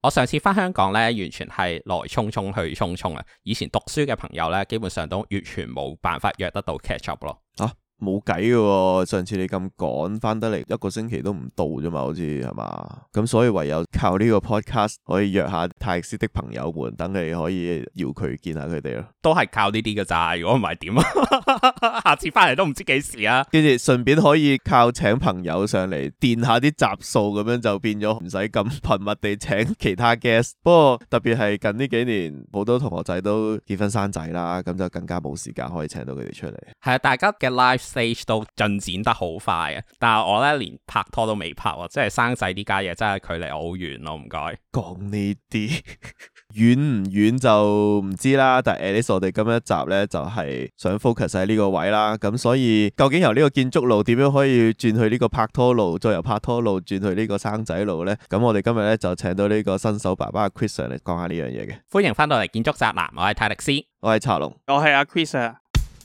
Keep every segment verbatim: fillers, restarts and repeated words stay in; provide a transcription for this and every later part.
我上次翻香港咧，完全係來匆匆去匆匆啊！以前讀書嘅朋友咧，基本上都完全冇辦法約得到 catch up 咯。 啊，冇計嘅，上次你咁趕翻得嚟，一個星期都唔到啫嘛，好似係嘛？咁所以唯有靠呢個 podcast 可以約下泰式的朋友們，等你可以邀佢見下佢哋咯。 都係靠呢啲㗎咋，如果唔係點啊？下次翻嚟都唔知幾時啊！ 跟住順便可以靠請朋友上嚟墊下啲集數，咁樣就變咗唔使咁頻密地請其他 guest。不過特別係近呢幾年，好多同學仔都結婚生仔啦，咁就更加冇時間可以請到佢哋出嚟。 係啊，大家嘅 life stage 都進展得好快啊！但係我咧連拍拖都未拍喎，即係生仔呢家嘢真係距離我好遠咯，唔該。 講呢啲遠唔遠就唔知啦，但係 at least 我哋今一集咧就係想 focus 喺呢個位啦，咁所以究竟由呢個建築路點樣可以轉去呢個拍拖路，再由拍拖路轉去呢個生仔路呢？咁我哋今日咧就請到呢個新手爸爸 Chris 上嚟講下呢樣嘢嘅。 歡迎翻到嚟建築宅男，我係泰迪斯， 我係茶龍， 我係阿 Chris 啊。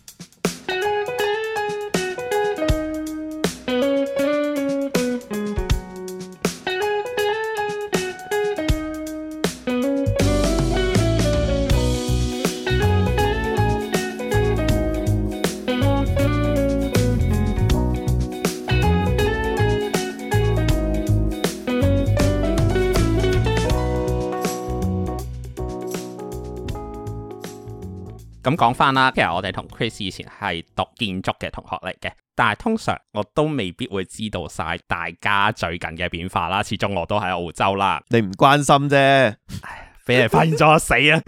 咁講翻啦，其實我哋同 Chris 以前係讀建築嘅同學嚟嘅，但係通常我都未必會知道晒大家最近嘅變化啦。始終我都喺澳洲啦， 你唔關心啫， 唉，俾人發現咗死啊！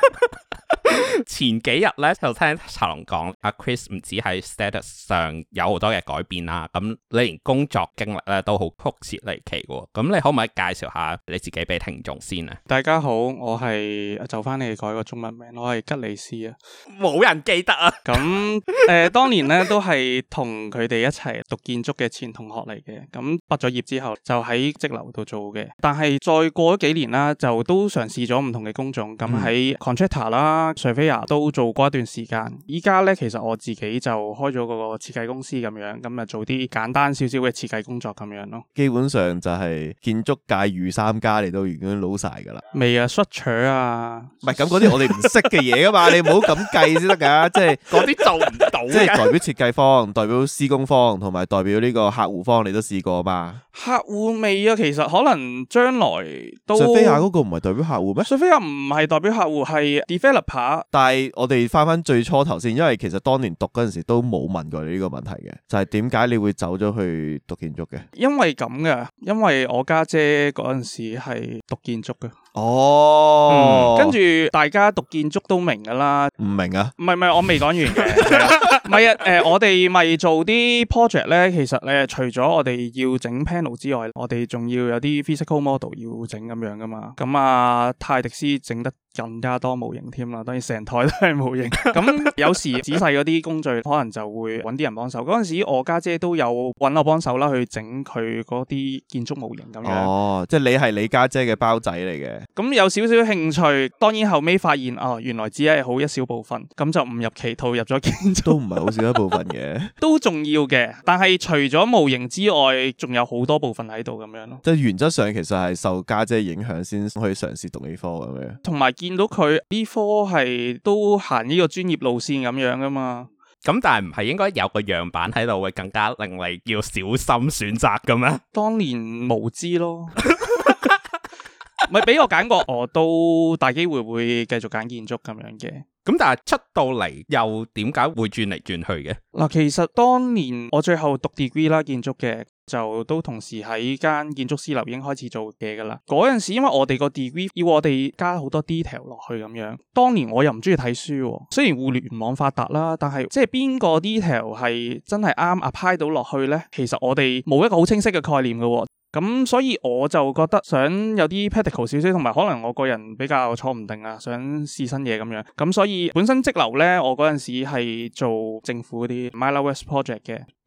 前幾日咧就聽茶龍講，阿 Chris 唔止喺 status 上有好多嘅改變啦，咁你連工作經歷咧都好曲折離奇嘅，咁你可唔可以介紹下你自己俾聽眾先啊？ 大家好，我係就翻你哋改個中文名，我係吉利斯啊， 冇人記得啊。 咁誒、呃，當年咧都係同佢哋一齊讀建築嘅前同學嚟嘅，咁畢咗業之後就喺則樓度做嘅，但係再過咗幾年啦，就都嘗試咗唔同嘅工種，咁喺 contractor 啦、surveyor 都做過一段時間。依家咧其實我自己就開咗個設計公司咁樣，咁啊做啲簡單少少嘅設計工作咁樣咯。 基本上就係建築界御三家你都已經撈晒噶啦。 未啊 structure 啊， 唔係咁嗰啲我哋唔識嘅嘢噶嘛，你唔好咁計先得噶，即係嗰啲做唔到嘅， 即係代表設計方、代表施工方同埋代表呢個客戶方，你都試過嘛？ 客戶未啊，其實可能將來都。 Surveyor 嗰個唔係代表客戶咩 ？Surveyor唔係代表客戶，係 developer。 但係我哋翻翻最初頭先，因為其實當年讀嗰陣時都冇問過你呢個問題嘅，就係點解你會走咗去讀建築嘅？ 因為咁嘅，因為我家姐嗰陣時係讀建築嘅。 哦， 嗯、跟住大家讀建築都明噶啦， 唔明啊？ 唔係唔係，我未講完嘅，唔係啊，誒、呃，我哋咪做啲 project 咧，其實咧除咗我哋要整 panel 之外，我哋仲要有啲 physical model 要整咁樣噶嘛，咁啊泰迪斯整得更加多模型添啦，當然成台都係模型，咁有時仔細嗰啲工序可能就會揾啲人幫手，嗰陣時我家姐都有揾我幫手啦，去整佢嗰啲建築模型咁樣。 哦，即係你係你家姐嘅包仔嚟嘅。 咁有少少興趣，當然後尾發現哦，原來只係好一小部分，咁就誤入歧途入咗建築， 都唔係好少一部分嘅， 都重要嘅。但係除咗模型之外，仲有好多部分喺度咁樣咯。 即係原則上其實係受家姐影響先去嘗試讀呢科咁樣。同埋見到佢呢科係都行呢個專業路線咁樣噶嘛。 咁但係唔係應該有個樣板喺度會更加令你要小心選擇嘅咩？ 當年無知咯。咪俾我揀過，我都大機會會繼續揀建築咁樣嘅。 咁但係出到嚟又點解會轉嚟轉去嘅？ 嗱，其實當年我最後讀 degree 啦，建築嘅就都同時喺間建築師樓已經開始做嘢噶啦。嗰陣時因為我哋個 degree 要我哋加好多 detail 落去咁樣，當年我又唔中意睇書，雖然互聯網發達啦，但係即係邊個 detail 係真係啱 apply 到落去呢？其實我哋冇一個好清晰嘅概念噶。咁所以我就覺得想有啲 practical 少少，同埋可能我個人比較坐唔定啊，想試新嘢咁樣。咁所以本身則樓咧，我嗰陣時係做政府嗰啲 Myla West project 嘅。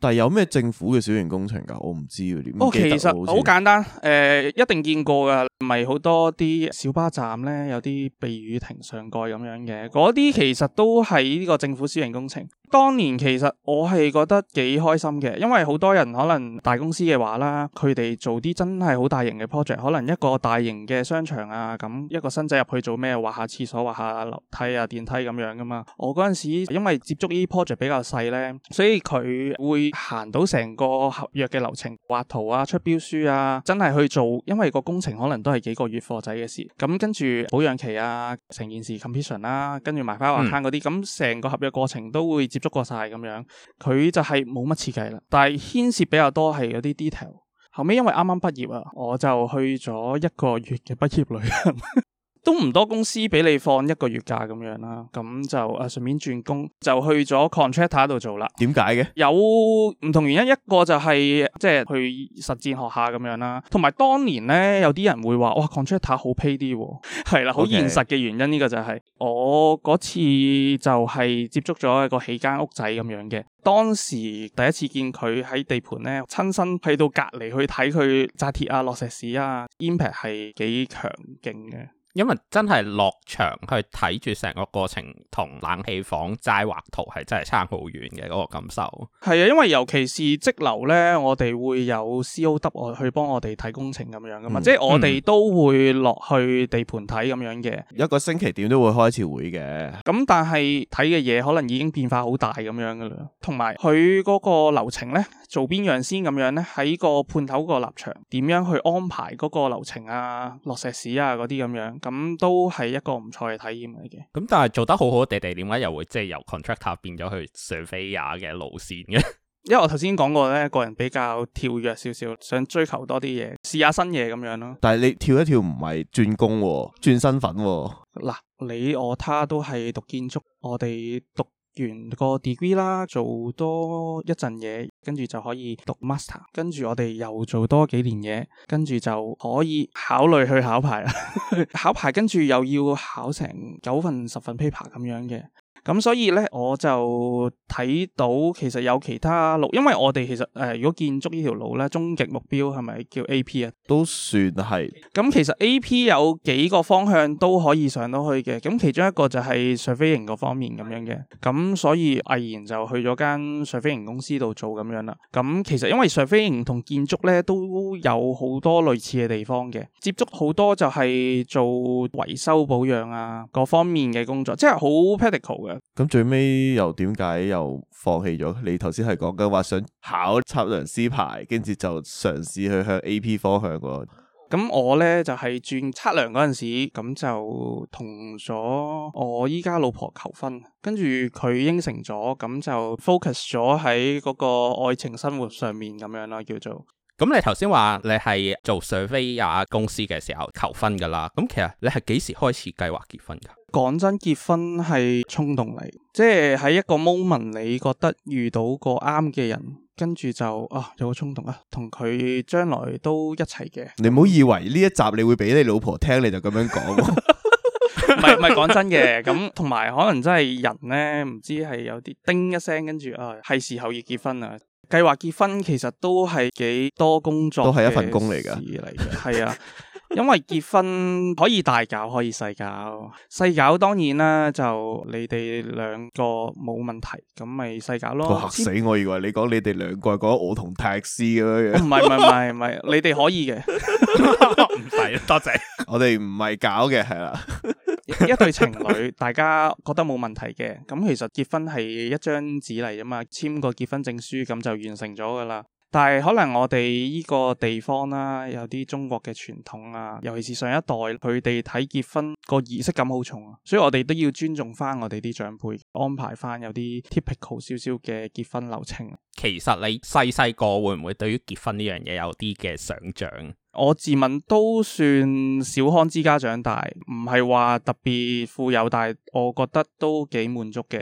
但係有咩政府嘅小型工程㗎？我唔知喎，點哦， 記得其實好簡單，誒、呃，一定見過㗎，唔係好多啲小巴站咧，有啲避雨亭上蓋咁樣嘅，嗰啲其實都係呢個政府小型工程。當年其實我係覺得幾開心嘅，因為好多人可能大公司嘅話啦，佢哋做啲真係好大型嘅 project， 可能一個大型嘅商場啊，咁一個新仔入去做咩？畫下廁所、畫下樓梯啊、電梯咁樣噶嘛。我嗰陣時因為接觸呢啲 project 比較細咧，所以佢會行到成個合約嘅流程，畫圖啊、出標書啊，真係去做。因為個工程可能都係幾個月貨仔嘅事，咁跟住保養期啊，成件事 completion 啦，跟住埋翻畫攤嗰啲，咁成、嗯、個合約過程都會接觸過晒咁樣。佢就係冇乜設計啦，但係牽涉比較多係嗰啲 detail。後尾因為啱啱畢業啊，我就去咗一個月嘅畢業旅行。都唔多公司俾你放一個月假咁樣啦，咁就誒順便轉工，就去咗 contractor 度做啦。點解嘅？有唔同原因，一個就係即係去實戰學下咁樣啦，同埋當年咧有啲人會話哇 contractor 好 pay 啲，係啦，好現實嘅原因呢、okay. 個就係、是、我嗰次就係接觸咗一個起間屋仔咁樣嘅，當時第一次見佢喺地盤咧，親身去到隔籬去睇佢紮鐵啊、落石屎啊 ，impact 係幾強勁嘅。 因為真係落場去睇住成個過程，同冷氣房齋畫圖係真係差好遠嘅嗰個感受。 係啊，因為尤其是則樓咧，我哋會有 C O W 我去幫我哋睇工程咁樣噶嘛，嗯、即係我哋都會落去地盤睇咁樣嘅。一個星期點都會開一次會嘅。咁但係睇嘅嘢可能已經變化好大咁樣噶啦，同埋佢嗰個流程咧，做邊樣先咁樣咧？喺個判頭個立場，點樣去安排嗰個流程啊、落石屎啊嗰啲咁樣。咁都係一個唔錯嘅體驗嚟嘅。咁但係做得好好地地，點解又會即係由 contractor 變咗去 surveyor 嘅路線嘅？ 因為我頭先講過咧，個人比較跳躍少少，想追求多啲嘢，試下新嘢咁樣咯。但係你跳一跳唔係轉工喎，轉身份喎。嗱，你我他都係讀建築，我哋讀完個 degree 啦，做多一陣嘢，跟住就可以讀 master， 跟住我哋又做多幾年嘢，跟住就可以考慮去考牌啦。考牌跟住又要考成九份十份 paper 咁樣嘅。咁所以咧，我就睇到其實有其他路，因為我哋其實誒、呃，如果建築呢條路咧，終極目標係咪叫 A P 啊？都算係。咁其實 A P 有幾個方向都可以上到去嘅，咁其中一個就係 surveying 嗰方面咁樣嘅。咁所以毅然就去咗間 surveying 公司度做咁樣啦。咁其實因為 surveying 同建築咧都有好多類似嘅地方嘅，接觸好多就係做維修保養啊各方面嘅工作，即係好 practical 嘅。咁最尾又點解又放棄咗？你頭先係講緊話想考測量師牌，跟住就嘗試去向 A P 方向喎。咁我呢就係、是、轉測量嗰陣時，咁就同咗我依家老婆求婚，跟住佢應承咗，咁就 focus 咗喺嗰個愛情生活上面咁樣啦，叫做。咁你頭先話你係做 surveyor 公司嘅時候求婚噶啦，咁其實你係幾時開始計劃結婚噶？講真，結婚係衝動嚟，即係喺一個 moment 你覺得遇到個啱嘅人，跟住就啊有個衝動啊，同佢將來都一齊嘅。你唔好以為呢一集你會俾你老婆聽，你就咁樣講。唔係唔係講真嘅，咁同埋可能真係人呢，唔知係有啲叮一聲，跟住啊係時候要結婚啦。計劃結婚其實都係幾多工作，都係一份工嚟㗎，嚟嘅係啊。因為結婚可以大搞，可以細搞。細搞當然啦，就你哋兩個冇問題，咁咪細搞咯。嚇死我！以為你講你哋兩個，講我同泰斯咁樣樣。唔係唔係唔係唔係，你哋可以嘅。唔使，多謝。我哋唔係搞嘅，係啦。一對情侶，大家覺得冇問題嘅，咁其實結婚係一張紙嚟啫嘛，簽個結婚證書咁就完成咗噶啦。但係可能我哋呢個地方啦，有啲中國嘅傳統啊，尤其是上一代佢哋睇結婚個儀式感好重啊，所以我哋都要尊重翻我哋啲長輩，安排翻有啲 typical 少少嘅結婚流程。其實你細細個會唔會對於結婚呢樣嘢有啲嘅想像？我自問都算小康之家長大，唔係話特別富有，但係我覺得都幾滿足嘅。嗯，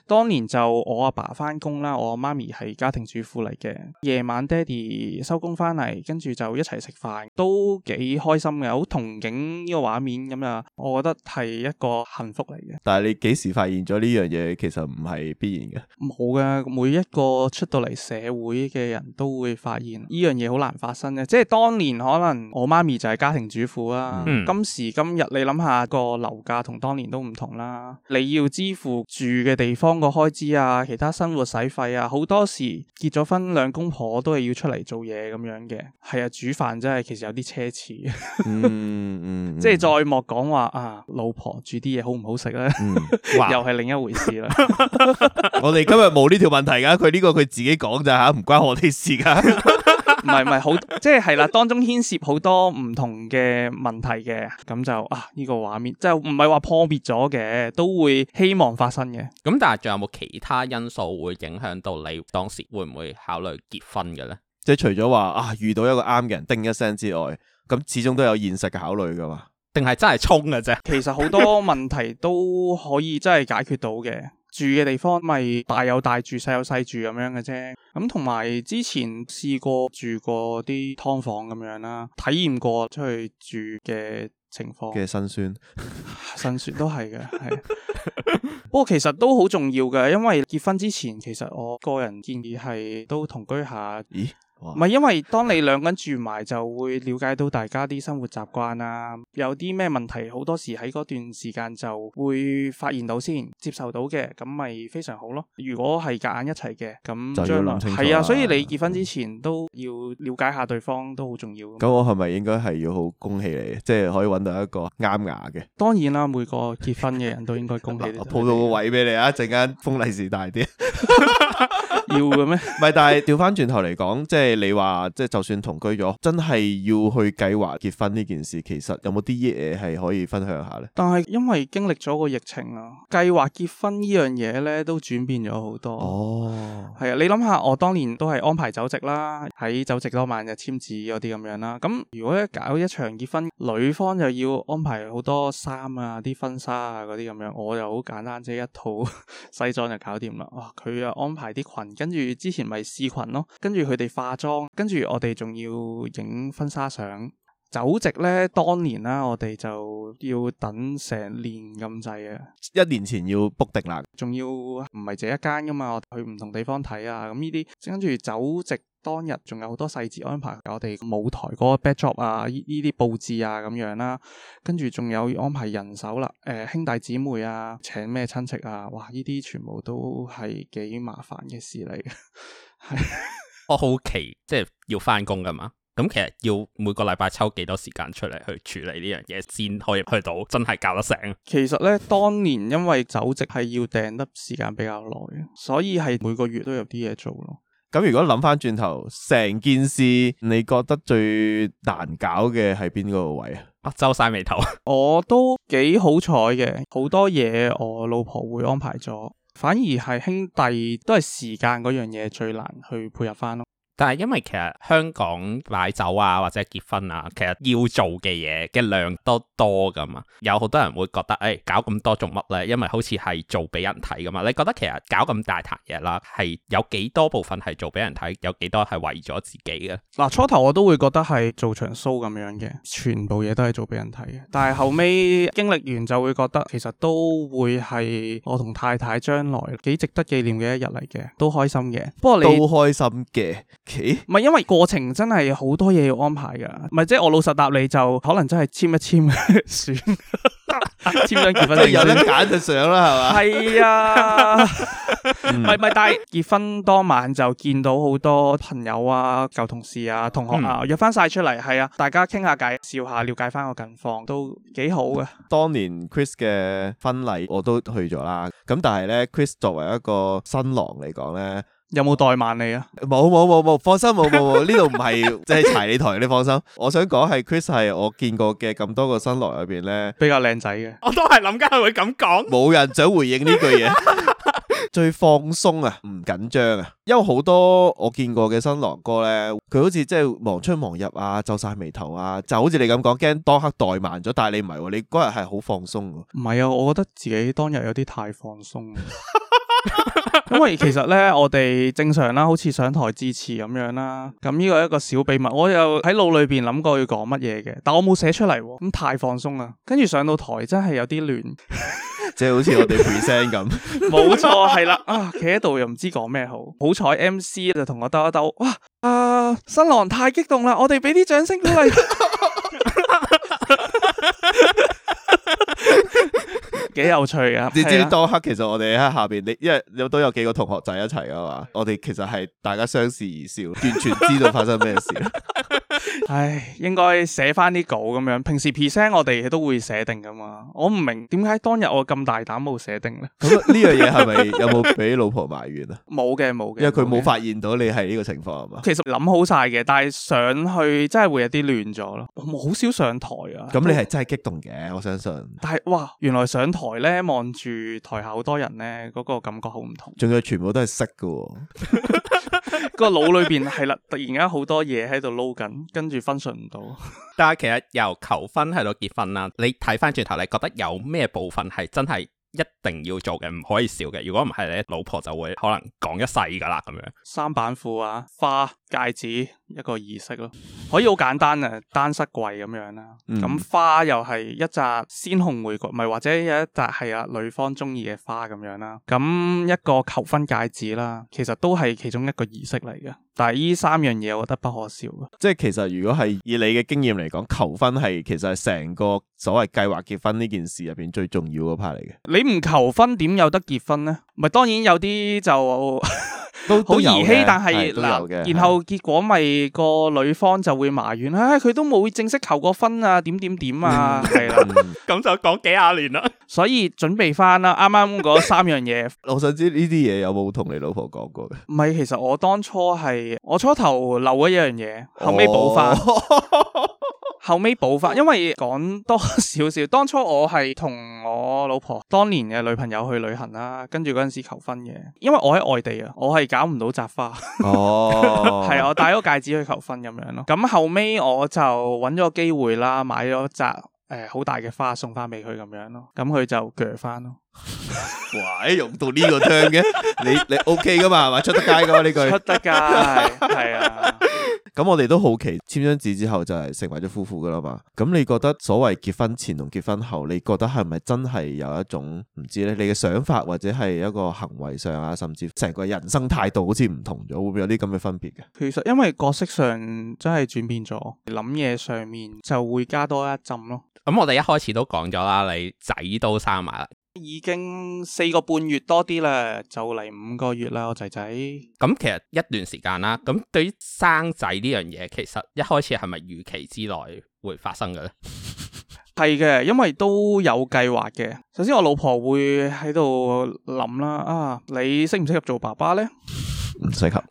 當年就我阿爸翻工啦，我媽咪係家庭主婦嚟嘅，夜晚爹哋收工翻嚟，跟住就一齊食飯，都幾開心嘅，好憧憬呢個畫面咁啊！我覺得係一個幸福嚟嘅。 但係你幾時發現咗呢樣嘢其實唔係必然嘅？冇嘅，每一個出到嚟社會嘅人都會發現呢樣嘢好難發生嘅。即係當年可能我媽咪就係家庭主婦啦，嗯、今時今日你諗下個樓價同當年都唔同啦，你要支付住嘅地方個開支啊，其他生活使費啊，好多時結咗婚兩公婆都係要出嚟做嘢咁樣嘅。係啊，煮飯真係其實有啲奢侈。嗯嗯，嗯即係再莫講話啊，老婆煮啲嘢好唔好食咧？嗯、又係另一回事啦。 我哋今日冇呢條問題噶，佢呢個佢自己講咋吓，唔關我哋事噶。 唔係唔係好，即係係啦，當中牽涉好多唔同嘅問題嘅，咁就啊呢、這個畫面，即係唔係話破滅咗嘅，都會希望發生嘅。 咁但係仲有冇其他因素會影響到你當時會唔會考慮結婚嘅咧？ 即係除咗話啊遇到一個啱嘅人叮一聲之外，咁始終都有現實嘅考慮噶嘛？定係真係衝嘅啫？其實好多問題都可以真係解決到嘅。住嘅地方咪大有大住，細有細住咁樣嘅啫。咁同埋之前試過住過啲劏房咁樣啦，體驗過出去住嘅情況嘅辛酸， 辛酸都係嘅，係。不過其實都好重要嘅，因為結婚之前，其實我個人建議係都同居下。咦？唔係，因為當你兩個人住埋，就會了解到大家啲生活習慣啊，有啲咩問題，好多時喺嗰段時間就會發現到先，接受到嘅，咁咪非常好咯。如果係夾硬一齊嘅，咁將來係啊，所以你結婚之前都要了解下對方都好重要。 咁我係咪應該係要好恭喜你，即係可以揾到一個啱牙嘅？ 當然啦，每個結婚嘅人都應該恭喜你。 我抱到個位俾你啊，陣間封利是大啲。 要嘅咩？ 唔係，但係調翻轉頭嚟講，即係你話，即係就算同居咗，真係要去計劃結婚呢件事，其實有冇啲嘢係可以分享下呢？ 但係因為經歷咗個疫情啊，計劃結婚呢樣嘢呢都轉變咗好多。哦，係啊，你諗下，我當年都係安排酒席啦，喺酒席當晚就簽字嗰啲咁樣啦。咁如果一搞一場結婚，女方就要安排好多衫啊、啲婚紗啊嗰啲咁樣，我就好簡單啫，一套西裝就搞掂啦。哇，佢又安排啲裙。跟住之前咪試裙咯，跟住佢哋化妝，跟住我哋仲要影婚紗相。酒席呢，當年啦，我哋就要等成年咁滯啊！ 一年前要 book 定啦， 仲要唔係這一間噶嘛，我去唔同地方睇啊，咁呢啲跟住酒席當日仲有好多細節安排，我哋舞台嗰個 backdrop 啊，呢啲佈置啊咁樣啦，跟住仲有安排人手啦，誒、呃、兄弟姊妹啊，請咩親戚啊，哇！呢啲全部都係幾麻煩嘅事嚟嘅。係我好奇，即係要翻工噶嘛？咁其實要每個禮拜抽幾多時間出嚟去處理呢樣嘢，先可以去到真係搞得成。其實呢，當年因為酒席係要訂得時間比較耐，所以係每個月都有啲嘢做咯。 咁如果諗翻轉頭，成件事你覺得最難搞嘅係邊個位啊？啊，皺晒眉頭。 我都幾好彩嘅，好多嘢我老婆會安排咗，反而係兄弟都係時間嗰樣嘢最難去配合翻咯。 但係因為其實香港擺酒啊或者結婚啊，其實要做嘅嘢嘅量都多噶嘛，有好多人會覺得誒、哎、搞咁多做乜咧？因為好似係做俾人睇噶嘛。你覺得其實搞咁大壇嘢啦，係有幾多部分係做俾人睇，有幾多係為咗自己嘅？嗱， 初頭我都會覺得係做場 show 咁樣嘅，全部嘢都係做俾人睇嘅。但係後尾經歷完就會覺得，其實都會係我同太太將來幾值得紀念嘅一日嚟嘅，都開心嘅。不過你都開心嘅。 唔係，因為過程真係好多嘢要安排噶，唔係即係我老實答你就可能真係簽一簽算，簽張結婚證有得揀就上啦，係嘛？ 係啊，唔係唔係，但係結婚當晚就見到好多朋友啊、舊同事啊、同學啊、嗯、約翻晒出嚟，係啊，大家傾下偈、笑下、了解翻個近況，都幾好嘅。 當年 Chris 嘅婚禮我都去咗啦，咁但係咧 Chris 作為一個新郎嚟講咧。 有冇怠慢你啊？ 冇冇冇冇，放心冇冇冇，呢度唔係即係柴你台，你放心。我想講係 Chris 係我見過嘅咁多個新郎入邊咧比較靚仔嘅。 我都係諗緊佢會咁講， 冇人想回應呢句嘢。最放鬆啊，唔緊張啊，因為好多我見過嘅新郎哥咧，佢好似即係忙出忙入啊，皺晒眉頭啊，就好似你咁講，驚當刻怠慢咗，但係你唔係喎，你嗰日係好放鬆。 唔係啊，我覺得自己當日有啲太放鬆。 因為其實咧，我哋正常啦，好似上台致辭咁樣啦，咁呢個係一個小秘密，我又喺腦裏邊諗過要講乜嘢嘅，但我冇寫出嚟，咁太放鬆啦，跟住上到台真係有啲亂， 即係好似我哋 present 咁， 冇錯係啦，啊，企喺度又唔知講咩好，好彩 M C 就同我兜一兜，哇，啊，新郎太激動啦，我哋俾啲掌聲鼓勵。幾有趣啊！ 你知唔知當刻其實我哋喺下邊，你因為有都有幾個同學仔一齊噶嘛，我哋其實係大家相視而笑，完全知道發生咩事。 唉，應該寫翻啲稿咁樣。平時 present 我哋都會寫定噶嘛。我唔明點解當日我咁大膽冇寫定咧？ 咁呢樣嘢係咪有冇俾老婆埋怨啊？ 冇嘅，冇嘅， 因為佢冇發現到你係呢個情況係嘛？ 其實諗好晒嘅，但係上去真係會有啲亂咗咯。我好少上台啊。 咁你係真係激動嘅，我相信。 但係哇，原來上台咧望住台下好多人咧，嗰個感覺好唔同。 仲有全部都係識嘅。 個腦裏邊係啦，突然間好多嘢喺度撈緊，跟住分順唔到。 但係其實由求婚去到結婚啦，你睇翻轉頭，你覺得有咩部分係真係一定要做嘅，唔可以少嘅？如果唔係咧，老婆就會可能講一世噶啦咁樣。三板褲啊，花戒指一個儀式咯，可以好簡單啊，單膝跪咁樣啦。咁、嗯、花又係一紮鮮紅玫瑰，唔係或者有一紮係啊女方中意嘅花咁樣啦。咁一個求婚戒指啦，其實都係其中一個儀式嚟嘅。但係呢三樣嘢，我覺得不可少嘅。即係其實如果係以你嘅經驗嚟講，求婚係其實係成個所謂計劃結婚呢件事入邊最重要嗰 part 嚟嘅。 你唔求婚點有得結婚呢？咪當然有啲就都好兒戲，但係嗱，然後結果咪個女方就會埋怨，唉，佢都冇正式求過婚啊，點點點啊，係啦，咁就講幾廿年啦。所以準備翻啦，啱啱嗰三樣嘢。 我想知呢啲嘢有冇同你老婆講過嘅？ 唔係，其實我當初係我初頭漏咗一樣嘢，後尾補翻。哦後尾補翻，因為講多少少，當初我係同我老婆當年嘅女朋友去旅行啦，跟住嗰陣時求婚嘅，因為我喺外地啊，我係搞唔到紮花，哦，係啊，我戴咗戒指去求婚咁樣咯。咁後尾我就揾咗個機會啦，買咗紮誒好大嘅花送翻俾佢咁樣咯，咁佢就鋸翻咯。 哇！用到呢個 turn 嘅，你你 OK 噶嘛？係嘛？出得街噶嘛？呢句出得街，係啊。 咁我哋都好奇，簽張紙之後就係成為咗夫婦噶啦嘛。咁你覺得所謂結婚前同結婚後，你覺得係咪真係有一種唔知咧？你嘅想法或者係一個行為上啊，甚至成個人生態度好似唔同咗，會唔會有啲咁嘅分別嘅？ 其實因為角色上真係轉變咗，諗嘢上面就會加多一浸咯。 咁我哋一開始都講咗啦，你仔都生埋啦。 已經四個半月多啲啦，就嚟五個月啦，我仔仔。 咁其實一段時間啦，咁對於生仔呢樣嘢，其實一開始係咪預期之內會發生嘅咧？ 係嘅，因為都有計劃嘅。首先我老婆會喺度諗啦，啊，你適唔適合做爸爸咧？ 唔適合。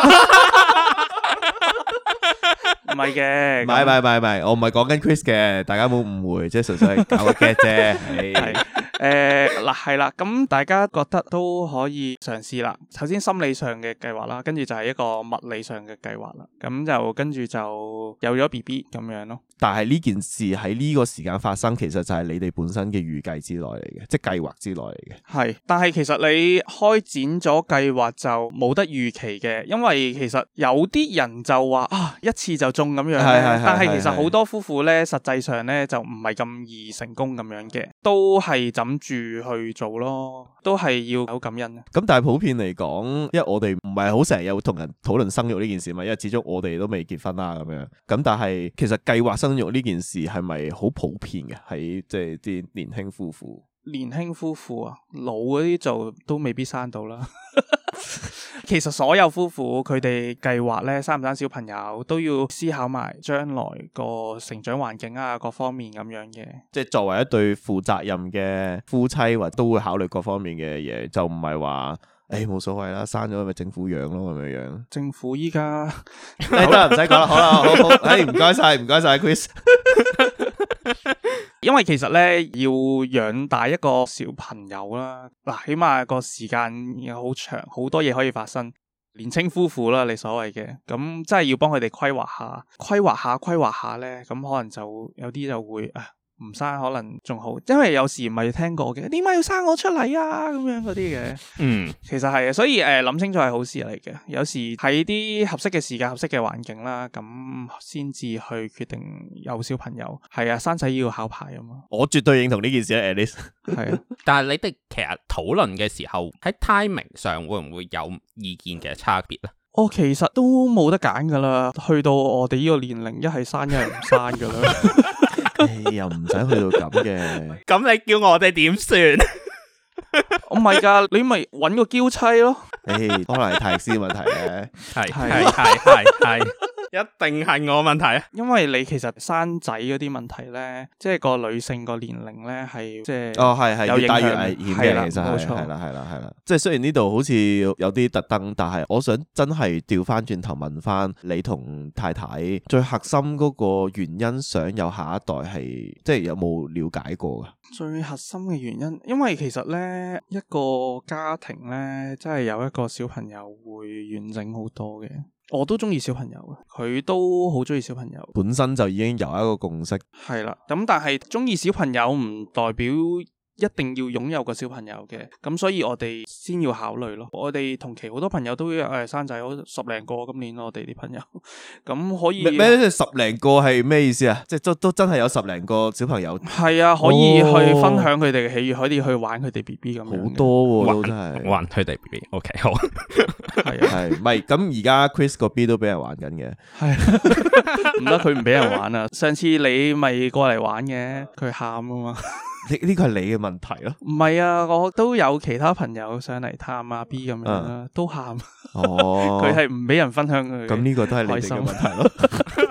唔係嘅， 唔係唔係唔係唔係，我唔係講緊 Chris 嘅，大家冇誤會，即係純粹係搞個 get 啫。係誒嗱係啦，咁大家覺得都可以嘗試啦。首先心理上嘅計劃啦，跟住就係一個物理上嘅計劃啦。咁就跟住就有咗 B B 咁樣咯。 但係呢件事喺呢個時間發生，其實就係你哋本身嘅預計之內嚟嘅，即係計劃之內嚟嘅。 係，但係其實你開展咗計劃就冇得預期嘅，因為其實有啲人就話啊一次就中咁樣，但係其實好多夫婦咧，實際上咧就唔係咁易成功咁樣嘅，都係枕住去做咯，都係要好感恩。 咁但係普遍嚟講，因為我哋唔係好成日有同人討論生育呢件事嘛，因為始終我哋都未結婚啦咁樣。咁但係其實計劃生育呢件事係咪好普遍嘅？喺即係啲年輕夫婦， 年輕夫婦啊，老嗰啲就都未必生到啦。其實所有夫婦佢哋計劃咧生唔生小朋友都要思考埋將來個成長環境啊，各方面咁樣嘅。即係作為一對負責任嘅夫妻，或都會考慮各方面嘅嘢，就唔係話誒冇所謂啦，生咗咪政府養咯咁樣樣。政府依家得啦，唔使講啦，好啦，好好，誒唔該晒，唔該晒 Chris。 因為其實咧要養大一個小朋友啦，嗱，起碼個時間又好長，好多嘢可以發生。年輕夫婦啦，你所謂嘅，咁真係要幫佢哋規劃下，規劃下，規劃下咧，咁可能就有啲就會啊唔生可能仲好，因為有時唔係聽過嘅，點解要生我出嚟啊？咁樣嗰啲嘅，嗯，其實係啊，所以誒諗、呃、清楚係好事嚟嘅。有時喺啲合適嘅時間、合適嘅環境啦，咁先至去決定有小朋友。係啊，生仔要考牌啊嘛。 我絕對認同呢件事咧 Alice 係啊， 但係你哋其實討論嘅時候喺 timing 上會唔會有意見嘅差別咧？ 我、哦、其實都冇得揀噶啦，去到我哋呢個年齡，一係生一係唔生噶啦。 欸、又唔使去到咁嘅。 咁你叫我哋點算？ 唔係噶，你咪搵個嬌妻咯。 誒、欸，可能係泰斯問題咧。係係係係係。一定係我問題啊！ 因為你其實生仔嗰啲問題咧，即係個女性個年齡咧係即係哦係係越大越危險嘅，其實冇錯， 係啦係啦係啦。即係雖然呢度好似有啲特登，但係我想真係調翻轉頭問翻你同太太最核心嗰個原因，想有下一代係即係有冇了解過噶？ 最核心嘅原因，因為其實咧一個家庭咧，真係有一個小朋友會完整好多嘅。我都中意小朋友嘅，佢都好中意小朋友， 本身就已經有一個共識。 係啦，咁但係中意小朋友唔代表一定要擁有個小朋友嘅，咁所以我哋先要考慮咯。我哋同期好多朋友都誒生仔，好十零個今年我哋啲朋友，咁可以咩？十零個係咩意思啊？即係都都真係有十零個小朋友。 係啊，可以去分享佢哋嘅喜悅，可以去玩佢哋 B B 咁樣。好多喎、啊，都真係玩佢哋 B B。OK， 好。 係啊， 係，唔係咁而家 Chris 個 B 都俾人玩緊嘅。 係，唔得，佢唔俾人玩啊！上次你咪過嚟玩嘅，佢喊啊嘛。 呢呢個係你嘅問題咯， 唔係啊，我都有其他朋友上嚟探阿 B 咁樣啦，嗯、都喊。哦，佢係唔俾人分享佢。咁呢個都係你哋嘅問題咯。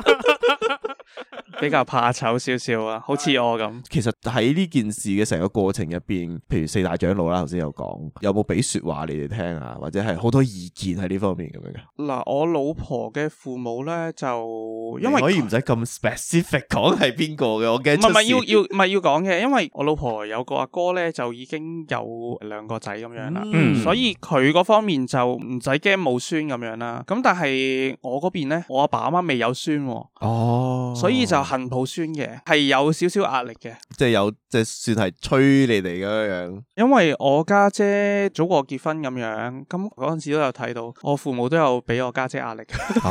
比較怕醜少少啊，好似我咁。其實喺呢件事嘅成個過程入邊，譬如四大長老啦，頭先有講，有冇俾說話你哋聽啊？或者係好多意見喺呢方面咁樣嘅？嗱，我老婆嘅父母咧，就因為可以唔使咁 specific 講係邊個嘅，我驚出事。唔係唔係要要唔係要講嘅，因為我老婆有個阿哥咧，就已經有兩個仔咁樣啦，嗯、所以佢嗰方面就唔使驚冇孫咁樣啦。咁但係我嗰邊咧，我阿爸阿媽未有孫，哦，所以就恨抱孫嘅，係有少少壓力嘅，即係有即係算係催你哋咁樣。因為我家姐早過結婚咁樣，咁嗰陣時都有睇到，我父母都有俾我家姐壓力。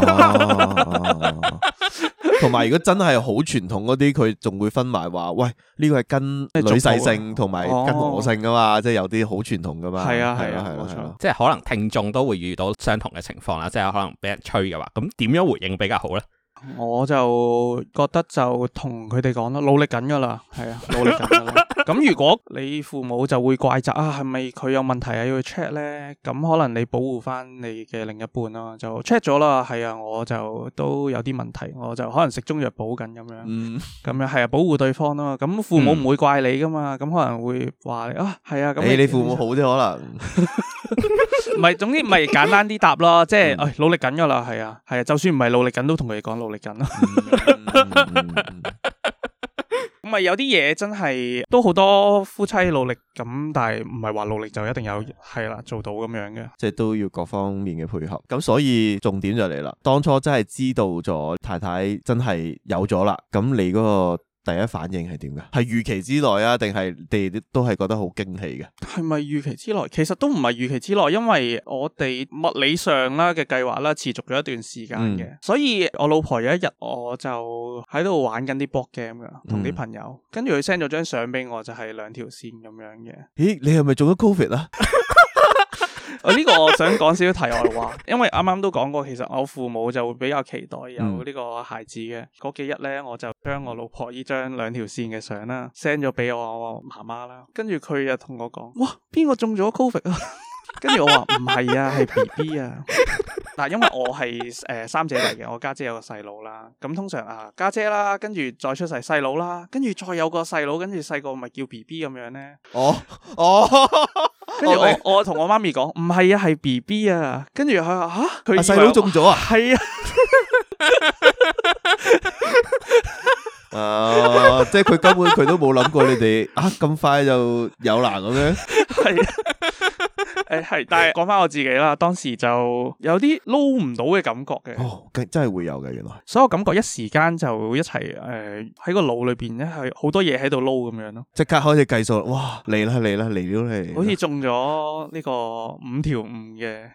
同埋如果真係好傳統嗰啲，佢仲會分埋話，喂，呢個係跟女婿姓同埋跟我姓噶嘛，即係有啲好傳統噶嘛。係啊係啊係冇錯，即係可能聽眾都會遇到相同嘅情況啦，即係可能俾人催嘅話，咁點樣回應比較好咧？我就覺得就同佢哋講啦，努力緊噶啦，係啊，努力緊噶啦。咁如果你父母就會怪責啊，係咪佢有問題啊要去 check 咧？咁可能你保護翻你嘅另一半咯，就 check 咗啦。係啊，我就都有啲問題，我就可能食中藥補緊咁樣，嗯，咁樣係啊，保護對方咯。咁父母唔會怪你噶嘛，咁、嗯、可能會話你啊，係啊，咁你，你父母好啲可能。唔係，總之咪簡單啲答咯，即係，誒、哎，努力緊噶啦，係啊，係啊，就算唔係努力緊，都同佢哋講努力緊咯。咁咪有啲嘢真係都好多夫妻努力咁，但係唔係話努力就一定有係啦做到咁樣嘅，即係都要各方面嘅配合。咁所以重點就嚟啦，當初真係知道咗太太真係有咗啦，咁你嗰個第一反應係點嘅？係預期之內啊，定係你哋都係覺得好驚喜嘅？係咪預期之內？其實都唔係預期之內，因為我哋物理上啦嘅計劃啦，持續咗一段時間嘅，嗯、所以我老婆有一日我就喺度玩緊啲 board game 噶，同啲朋友，跟住佢 send 咗張相俾我，就係兩條線咁樣嘅。咦，你係咪中咗 Covid 啊？我呢個我想講少少題外話，因為啱啱都講過，其實我父母就會比較期待有呢個孩子嘅。嗰、嗯、幾日咧，我就將我老婆呢張兩條線嘅相啦 send 咗俾我媽媽啦，跟住佢又同我講：哇，邊個中咗 Covid 啊？跟住我話唔係啊，係 B B 啊。嗱，因為我係誒、呃、三姐弟嘅，我家姐，姐有個細佬啦。咁通常啊，家姐，姐啦，跟住再出世細佬啦，跟住再有個細佬，跟住細個咪叫 B B 咁樣咧。哦哦，跟住我我同我媽咪講唔係啊，係 B B 啊。跟住佢話吓，佢細佬中咗啊？係啊。啊！即係佢根本佢都冇諗過你哋啊咁快就有難咁樣。係啊。 誒係，但係講翻我自己啦，當時就有啲撈唔到嘅感覺嘅。 哦，真係會有嘅原來。 所以我感覺一時間就一齊誒喺個腦裏邊咧係好多嘢喺度撈咁樣咯。 即刻開始計數，哇嚟啦嚟啦嚟了嚟！ 好似中咗呢個五條悟嘅。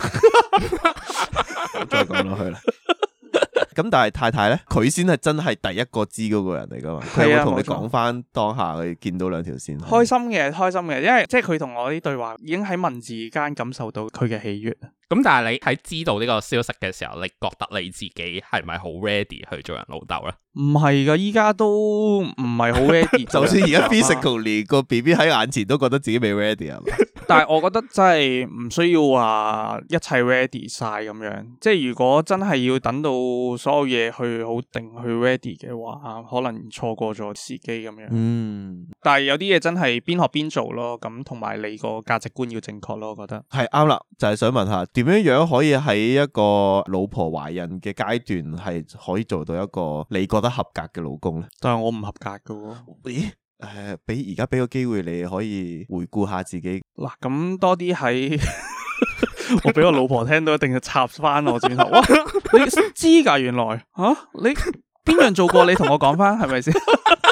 再講落去啦。咁但係太太咧，佢先係真係第一個知嗰個人嚟噶嘛？佢有冇同你講翻當下佢見到兩條線？ 開心嘅，開心嘅，因為即係佢同我啲對話已經喺文字間感受到佢嘅喜悅。 咁但係你喺知道呢個消息嘅時候，你覺得你自己係咪好 ready 去做人老豆咧？ 唔係噶，依家都唔係好 ready。就算而家 physically 個 B B 喺眼前都覺得自己未 ready 啊。 但係我覺得真係唔需要話一切 ready 晒咁樣。即係如果真係要等到所有嘢去好定去 ready 嘅話，可能錯過咗時機咁樣。嗯。但係有啲嘢真係邊學邊做咯，咁同埋你個價值觀要正確咯，我覺得。 係啱啦，就係、是、想問下點樣樣可以喺一個老婆懷孕嘅階段係可以做到一個你覺得合格嘅老公咧？ 但係我唔合格噶喎。 咦？誒，俾而家俾個機會你可以回顧下自己。 嗱，咁多啲喺我俾我老婆聽到一定要插翻我轉頭。哇，你知噶？原來吓、啊、你邊樣做過？你同我講翻係咪先？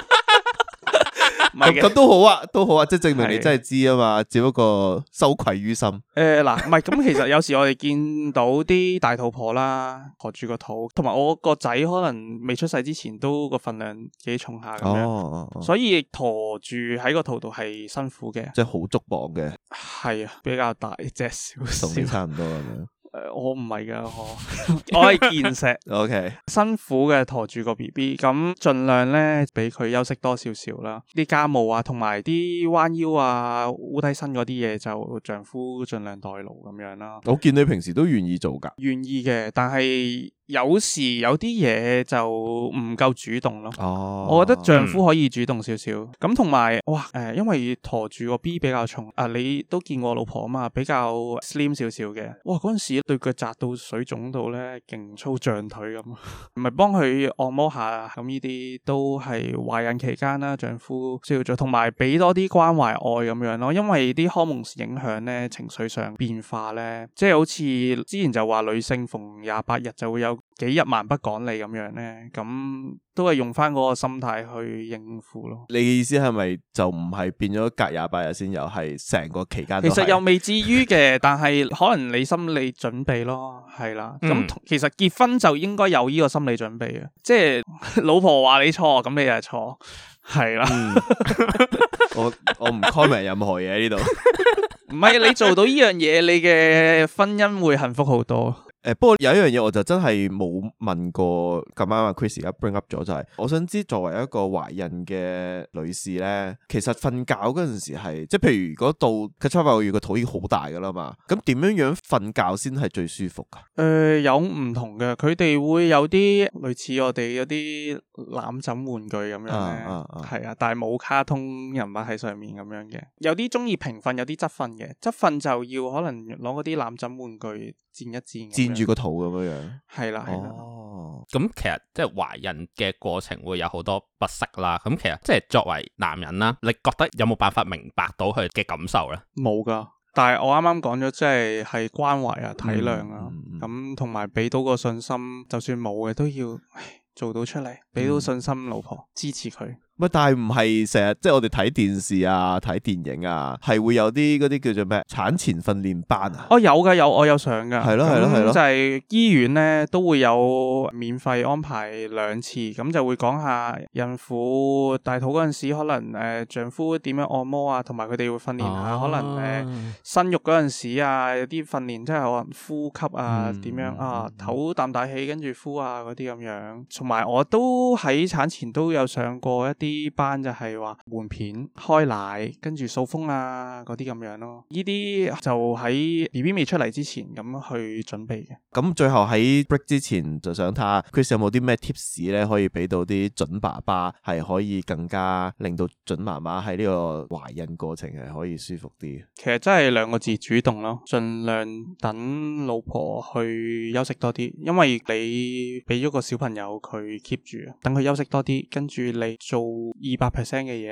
咁咁都好啊，都好啊，即係證明你真係知啊嘛，只不過羞愧於心。誒， 嗱，唔係咁，其實有時我哋見到啲大肚婆啦，陀住個肚，同埋我個仔可能未出世之前都個份量幾重下咁樣，哦哦、所以陀住喺個肚度係辛苦嘅， 即係好足磅嘅。係啊，比較大隻少少， 同你差唔多咁樣。 誒，我唔係噶，我我係健碩 ，OK， 辛苦嘅陀住個 B B，咁盡量咧俾佢休息多少少啦。啲家務啊，同埋啲彎腰啊、烏低身嗰啲嘢，就丈夫盡量代勞咁樣啦。 我見你平時都願意做噶， 願意嘅，但係有時有啲嘢就唔夠主動咯。哦，我覺得丈夫可以主動少少。咁同埋，哇，誒、呃，因為陀住個 B 比較重，啊，你都見過我老婆啊嘛，比較 slim 少少嘅。哇，嗰陣時對腳扎到水腫到咧，勁粗脹腿咁，唔係幫佢按摩下，咁呢啲都係懷孕期間啦，丈夫需要做，同埋俾多啲關懷愛咁樣咯。因為啲荷蒙影響咧，情緒上變化咧，即係好似之前就話女性逢廿八日就會有幾日蠻不講理咁樣咧，咁都係用翻嗰個心態去應付咯。 你嘅意思係咪就唔係變咗隔廿八日先，又係成個期間都係？ 其實又未至於嘅，但係可能你心理準備咯，係啦。咁、嗯、其實結婚就應該有呢個心理準備嘅，即係老婆話你錯，咁你就係錯，係啦。嗯、 我我唔 comment 任何嘢喺呢度。 唔係你做到呢樣嘢，你嘅婚姻會幸福好多。 誒，不過有一樣嘢我就真係冇問過，咁啱啊 Chris 而家 bring up 咗就係、是，我想知作為一個懷孕嘅女士咧，其實瞓覺嗰陣時係，即係譬如如果到佢七八個月個肚已經好大噶啦嘛，咁點樣樣瞓覺先係最舒服噶？誒、 呃，有唔同嘅，佢哋會有啲類似我哋有啲攬枕玩具咁樣咧，係啊，啊，啊，但係冇卡通人物喺上面咁樣嘅，有啲中意平瞓，有啲側瞓嘅，側瞓就要可能攞嗰啲攬枕玩具墊一墊， 墊住個肚咁樣樣， 係啦，係啦。 哦，咁其實即係懷孕嘅過程會有好多不適啦。咁其實即係作為男人啦，你覺得有冇辦法明白到佢嘅感受咧？ 冇噶，但係我啱啱講咗，即係係關懷啊、體諒啊，咁同埋俾到個信心，就算冇嘅都要做到出嚟，俾到信心老婆，嗯、支持佢。 乜？但係唔係成日即係我哋睇電視啊、睇電影啊，係會有啲嗰啲叫做咩產前訓練班啊？ 哦，有㗎，有，我有上㗎。 係咯係咯係咯， 就係醫院咧都會有免費安排兩次，咁就會講下孕婦大肚嗰陣時，可能誒、呃、丈夫點樣按摩啊，同埋佢哋會訓練下，啊、可能誒、呃、生育嗰陣時啊，有啲訓練即係可能呼吸啊，點、嗯、樣啊，唞啖大氣跟住呼啊嗰啲咁樣。同埋我都喺產前都有上過一啲。啲班就係話換片、開奶，跟住掃風啊嗰啲咁樣咯。呢啲就喺 B B 未出嚟之前咁去準備嘅。 咁最後喺 break 之前就想睇下 Chris 有冇啲咩 tips 咧，可以俾到啲準爸爸，係可以更加令到準媽媽喺呢個懷孕過程係可以舒服啲。 其實真係兩個字，主動咯，盡量等老婆去休息多啲，因為你俾咗個小朋友佢 keep 住，等佢休息多啲，跟住你做二百 percent 嘅嘢咯，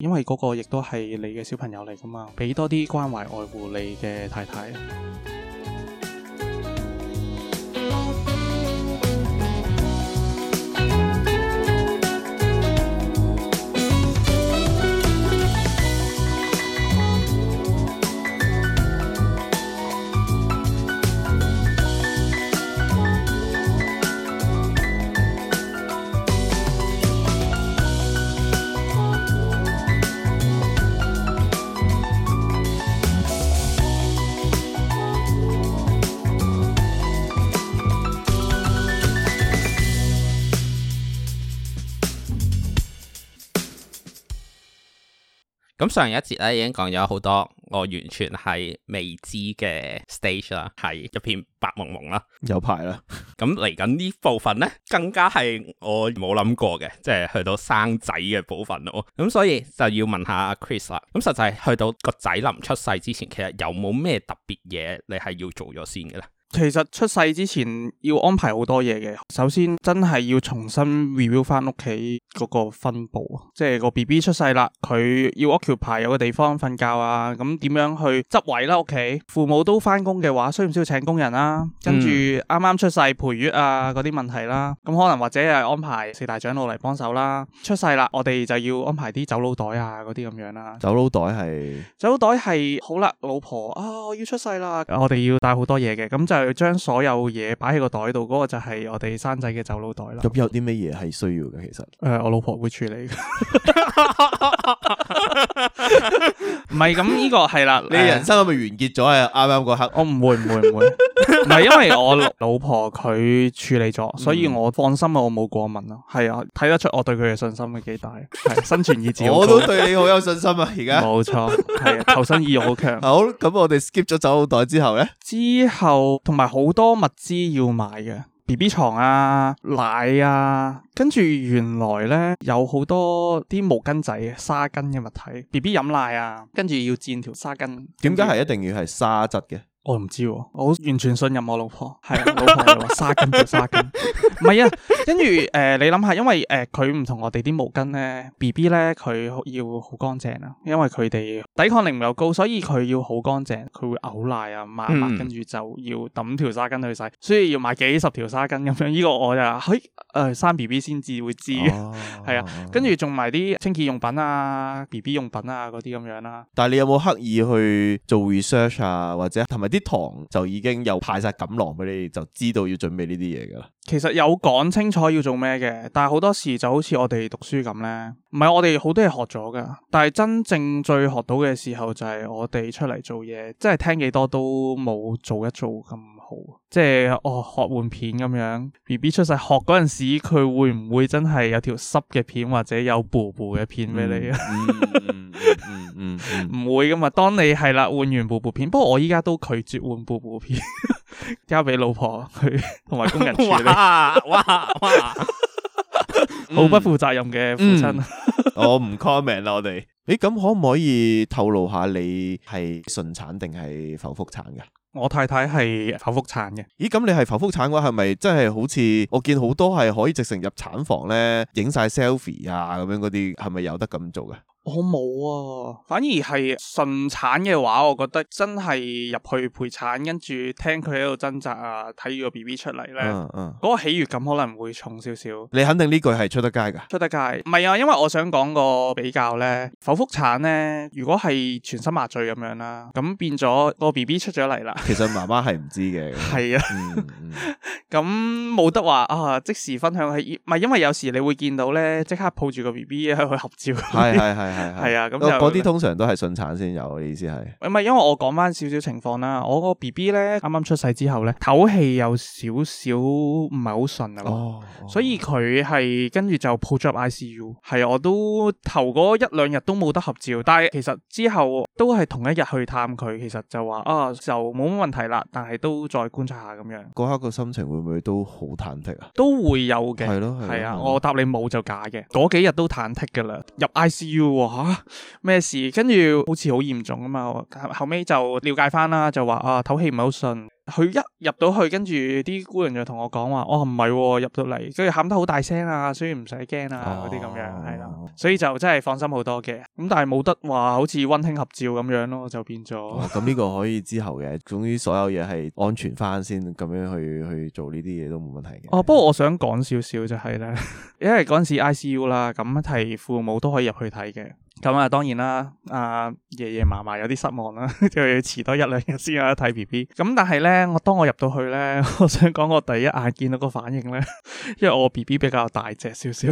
因為嗰個亦都係你嘅小朋友嚟噶嘛，俾多啲關懷愛護你嘅太太。 咁上一節咧已經講咗好多我完全係未知嘅 stage 啦，係一片白蒙蒙啦， 有排啦。 咁嚟緊呢部分呢，更加係我冇諗過嘅，即係去到生仔嘅部分咯。咁所以就要問下阿 Chris 啦。咁實際去到個仔臨出世之前，其實有冇咩特別嘢你係要做咗先嘅咧？ 其實出世之前要安排好多嘢嘅，首先真係要重新 review 翻屋企嗰個分佈，即係個 B B 出世啦，佢要 occupy 有個地方瞓覺啊，咁點樣去執位啦屋企？父母都翻工嘅話，需唔需要請工人啦？跟住啱啱出世陪月啊嗰啲問題啦，咁可能或者係安排四大長老嚟幫手啦。出世啦，我哋就要安排啲走佬袋啊嗰啲咁樣啦。 走佬袋係走佬袋係好啦，老婆啊，我要出世啦，我哋要帶好多嘢嘅，咁就將所有嘢擺喺個袋度，嗰、嗰個就係我哋生仔嘅走佬袋啦。 咁有啲咩嘢係需要嘅？其實誒、 呃，我老婆會處理嘅。唔係，咁呢個係啦。 你人生係咪完結咗啊？啱啱嗰刻， 我唔會唔會唔會，唔係因為我老婆佢處理咗，所以我放心啊，我冇過問咯。係啊，睇得出我對佢嘅信心係幾大，係生存意志好高。 我都對你好有信心啊！而家冇錯，係啊，求生意欲好強。 好，咁我哋 skip 咗走佬袋之後咧， 之後同埋好多物資要買嘅。B B 床啊、奶啊，跟住原來咧有好多啲毛巾仔、沙巾嘅物體。B B 飲奶啊，跟住要墊條沙巾。 點解係一定要係沙質嘅？ 我唔知、啊，我完全信任我老婆。係啊，老婆又話沙巾就沙巾，唔係啊。跟住誒、呃，你諗下，因為誒佢唔同我哋啲毛巾咧 ，B B 咧佢要好乾淨啊，因為佢哋抵抗力唔夠高，所以佢要好乾淨，佢會嘔奶啊、抹抹，跟住就要抌條沙巾去洗，所以要買幾十條沙巾咁樣。呢、這個我就嘿誒、呃、生 B B 先至會知，係、哦、啊。跟住仲埋啲清潔用品啊、B B 用品啊嗰啲咁樣啦。 但係你有冇刻意去做 research 啊，或者同埋啲堂就已經有派晒錦囊俾你，就知道要準備呢啲嘢噶啦？ 其實有講清楚要做咩嘅，但係好多時就好似我哋讀書咁呢，唔係我哋好多嘢學咗噶，但係真正最學到嘅時候就係我哋出嚟做嘢，即係聽幾多都冇做一做咁好。即係哦，學換片咁樣 ，B B 出世學嗰陣時，佢會唔會真係有條濕嘅片或者有布布嘅片俾你啊？ 嗯嗯嗯， 唔會噶嘛。當你係啦換完布布片，不過我依家都拒絕換布布片，交俾老婆去同埋工人處理。哇哇哇！好不負責任嘅父親。 嗯、我唔 comment 啦，我哋。誒，咁可唔可以透露下你係順產定係剖腹產噶？ 我太太係剖腹產嘅。 咦，咁你係剖腹產嘅話，係咪真係好似我見好多係可以直程入產房咧，影晒 selfie 啊咁樣嗰啲，係咪有得咁做嘅？ 我冇啊，反而係順產嘅話，我覺得真係入去陪產，跟住聽佢喺度掙扎啊，睇住個 B B 出嚟咧，嗰、嗯嗯、個喜悅感可能會重少少。你肯定呢句係出得街噶？ 出得街，唔係啊，因為我想講個比較咧，剖腹產咧，如果係全身麻醉咁樣啦，咁變咗個 B B 出咗嚟啦。 其實媽媽係唔知嘅。係啊， 咁冇得話啊，即時分享係，唔係因為有時你會見到咧，即刻抱住個 B B 喺度合照。係係係。係係啊，咁就嗰啲通常都係順產先有，我意思係唔係，因為我講翻少少情況啦。我個 B B 咧啱啱出世之後咧，唞氣有少少唔係好順啊，哦哦、所以佢係跟住就抱咗入 I C U。係我都頭嗰一兩日都冇得合照，但係其實之後都係同一日去探佢，其實就話啊就冇乜問題啦，但係都再觀察下咁樣。 嗰刻個心情會唔會都好忐忑啊？ 都會有嘅， 係咯， 係啊，我答你冇就假嘅。嗰幾日都忐忑噶啦，入 I C U。吓咩事？跟住好似好嚴重啊嘛，後尾就了解翻啦，就話啊唞氣唔係好順， 佢一入到去，跟住啲姑娘就同我講話，哦唔係入到嚟，跟住喊得好大聲啊，所以唔使驚啊嗰啲咁樣係啦，所以就真係放心好多嘅。咁但係冇得話好似溫馨合照咁樣咯，就變咗。咁呢、 哦、個可以之後嘅，總之所有嘢係安全翻先，咁樣去去做呢啲嘢都冇問題嘅。哦， 不過我想講少少就係咧，因為嗰陣時 I C U 啦，咁係父母都可以入去睇嘅。咁啊，當然啦，阿爺爺嫲嫲有啲失望啦，就要遲多一兩日先有得睇 B B。咁但係咧，我當我入到去咧，我想講我第一眼見到個反應咧，因為我 B B 比較大隻少少，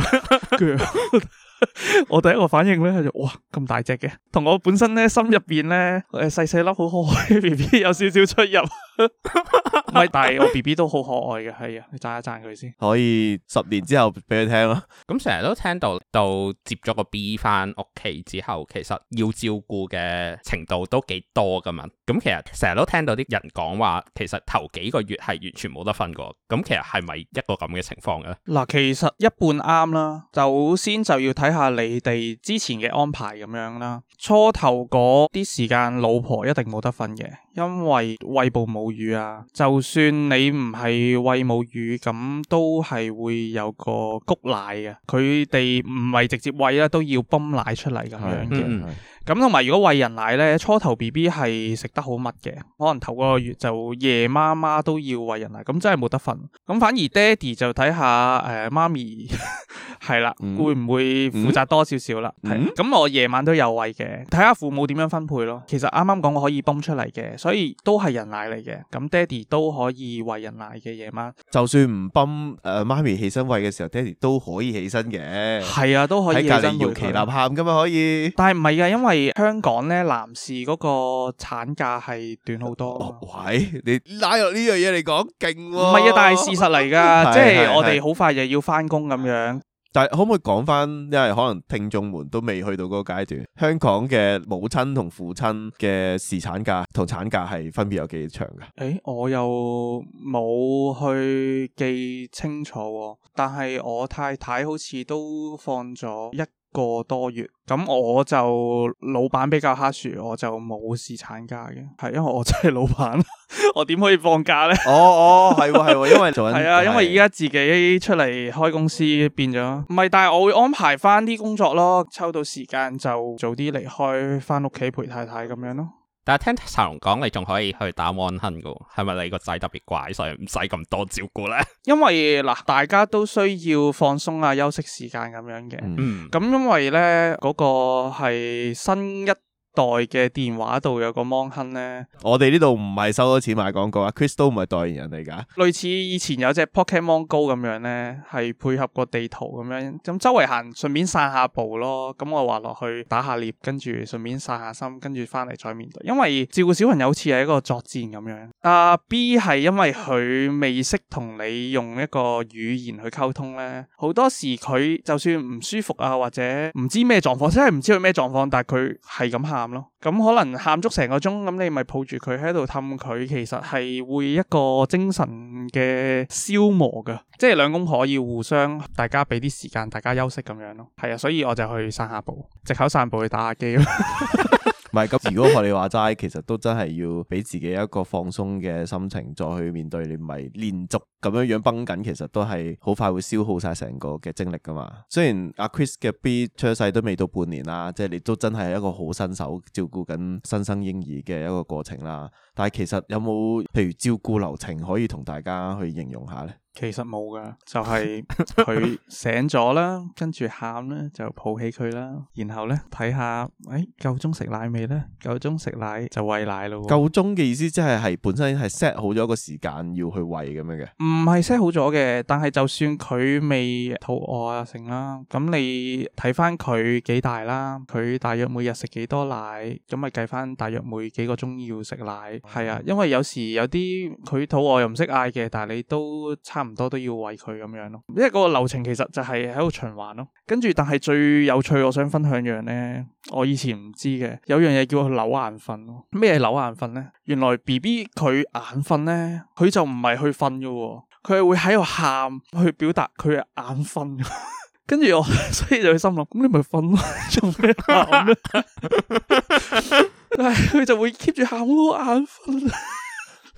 我第一個反應咧就哇咁大隻嘅，同我本身咧心入邊咧誒細細粒好可愛嘅 B B 有少少出入。唔係，但係我 B B 都好可愛嘅，係啊，你讚一讚佢先。 可以十年之後俾佢聽咯。 咁成日都聽到到接咗個 B 翻屋企之後，其實要照顧嘅程度都幾多噶嘛。咁其實成日都聽到啲人講話，其實頭幾個月係完全冇得瞓過。咁其實係咪一個咁嘅情況嘅咧？嗱， 其實一半啱啦。首先就要睇下你哋之前嘅安排咁樣啦。初頭嗰啲時間，老婆一定冇得瞓嘅，因為餵哺母乳啊。就算你唔係餵母乳，咁都係會有個谷奶嘅。佢哋唔係直接餵啦，都要泵奶出嚟咁樣嘅。咁同埋如果餵人奶咧，初頭 B B 係食得好密嘅，可能頭個月就夜媽媽都要餵人奶，咁真係冇得瞓。咁反而爹哋就睇下誒媽咪係啦，嗯、會唔會負責多少少啦？係咁、嗯、我夜晚都有餵嘅，睇下父母點樣分配咯。其實啱啱講我可以泵出嚟嘅，所以都係人奶嚟嘅。咁爹哋都可以餵人奶嘅夜晚。就算唔泵誒媽咪起身餵嘅時候，爹哋都可以起身嘅。係啊，都可以起身喺隔籬搖旗吶喊噶嘛可以。但係唔係噶，因為香港咧男士嗰個產假係短好多、哦。喂，你拉落呢樣嘢嚟講勁喎。唔係啊，但係事實嚟噶，即係我哋好快就要翻工咁樣。但係可唔可以講翻，因為可能聽眾們都未去到嗰個階段，香港嘅母親同父親嘅侍產假同產假係分別有幾長噶？誒，我又冇去記清楚喎，但係我太太好似都放咗一個多月，咁我就老闆比較黑樹，我就冇侍產假嘅，係因為我真係老闆，我點可以放假呢？哦哦，係喎係喎，因為做緊係啊，因為而家自己出嚟開公司變咗，唔係，但係我會安排翻啲工作咯，抽到時間就早啲離開，翻屋企陪太太咁樣咯。 但係聽茶龍講，你仲可以去打 Mon Hun 噶，係咪你個仔特別乖，所以唔使咁多照顧咧？因為嗱，大家都需要放鬆啊、休息時間咁樣嘅。嗯，咁因為咧嗰個係新一代嘅電話度有個 Mon Hun 咧，我哋呢度唔係收咗錢買廣告啊 ，Chris 都唔係代言人嚟噶。類似以前有隻 Pokemon Go 咁樣咧，係配合個地圖咁樣，咁周圍行順便散下步咯。咁我話落去打下獵，跟住順便散下心，跟住翻嚟再面對。因為照顧小朋友好似係一個作戰咁樣。阿、uh, B 係因為佢未識同你用一個語言去溝通咧，好多時佢就算唔舒服啊，或者唔知咩狀況，真係唔知佢咩狀況，但係佢係咁喊。咁可能喊足成個鐘，咁你咪抱住佢喺度氹佢，其實係會一個精神嘅消磨噶，即係兩公婆要互相，大家俾啲時間，大家休息咁樣咯。係啊，所以我就去散下步，藉口散步去打下機咯。唔係咁，如果學你話齋，其實都真係要俾自己一個放鬆嘅心情，再去面對。你唔係連續咁樣樣繃緊，其實都係好快會消耗晒成個嘅精力噶嘛。雖然阿 Chris 嘅 B 出世都未到半年啦，即係你都真係一個好新手照顧緊新生嬰兒嘅一個過程啦。但係其實有冇譬如照顧流程可以同大家去形容下呢？其實冇噶，就係佢醒咗啦，跟住喊咧就抱起佢啦，然後咧睇下，誒夠鐘食奶未咧？夠鐘食奶就餵奶咯。夠鐘嘅意思即係係本身係 set 好咗個時間要去餵咁樣嘅？唔係 set 好咗嘅，但係就算佢未肚餓啊成啦，咁你睇翻佢幾大啦，佢大約每日食幾多奶，咁咪計翻大約每幾個鐘要食奶。係啊，因為有時有啲佢肚餓又唔識嗌嘅，但係你都差唔多都要餵佢咁樣咯。因為嗰個流程其實就係喺度循環咯。跟住，但係最有趣，我想分享樣咧，我以前唔知嘅，有樣嘢叫佢扭眼瞓咯。咩係扭眼瞓咧？原來 B B 佢眼瞓咧，佢就唔係去瞓嘅，佢係會喺度喊去表達佢嘅眼瞓。跟住我，所以就去心諗，咁你咪瞓咯，做咩喊咧？但係佢就會 keep 住喊，我眼瞓。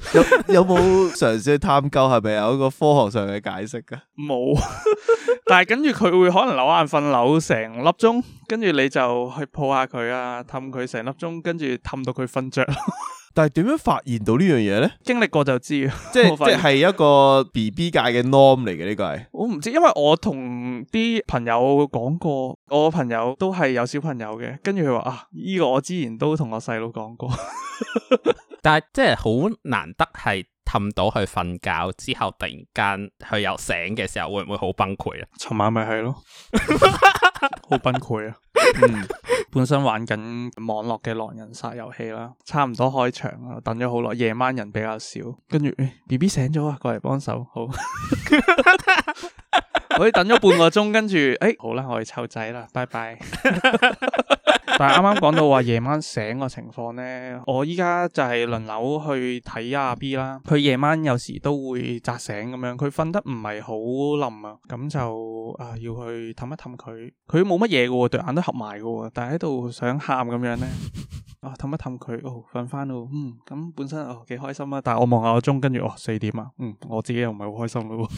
有有冇嘗試去探究係咪有一個科學上嘅解釋噶？ 冇，但係跟住佢會可能扭眼瞓扭成粒鐘，跟住你就去抱下佢啊，氹佢成粒鐘，跟住氹到佢瞓着。 但係點樣發現到呢樣嘢咧？ 經歷過就知， 即係即係一個 B B 界嘅 norm 嚟嘅呢個係。 我唔知，因為我同啲朋友講過，我朋友都係有小朋友嘅，跟住佢話啊，呢個我之前都同我細佬講過。 但係即係好難得係氹到佢瞓覺之後，突然間佢又醒嘅時候，會唔會好崩潰啊？ 尋晚咪係咯，好崩潰啊！嗯，本身玩緊網絡嘅狼人殺遊戲啦，差唔多開場啦，等咗好耐，夜晚人比較少，跟住誒 B B 醒咗啊，過嚟幫手，好，我哋等咗半個鐘，跟住誒好啦，我哋湊仔啦，拜拜。但係啱啱講到話夜晚醒個情況呢，我依家就係輪流去睇阿 B 啦。佢夜晚有時都會扎醒咁樣，佢瞓得唔係好冧啊，咁就啊要去氹一氹佢。佢冇乜嘢嘅，對眼都合埋嘅，但係喺度想喊咁樣呢。啊氹一氹佢，哦瞓翻咯，嗯咁本身哦幾開心啊。但係我望下個鐘，跟住哦四點啊，嗯我自己又唔係好開心咯。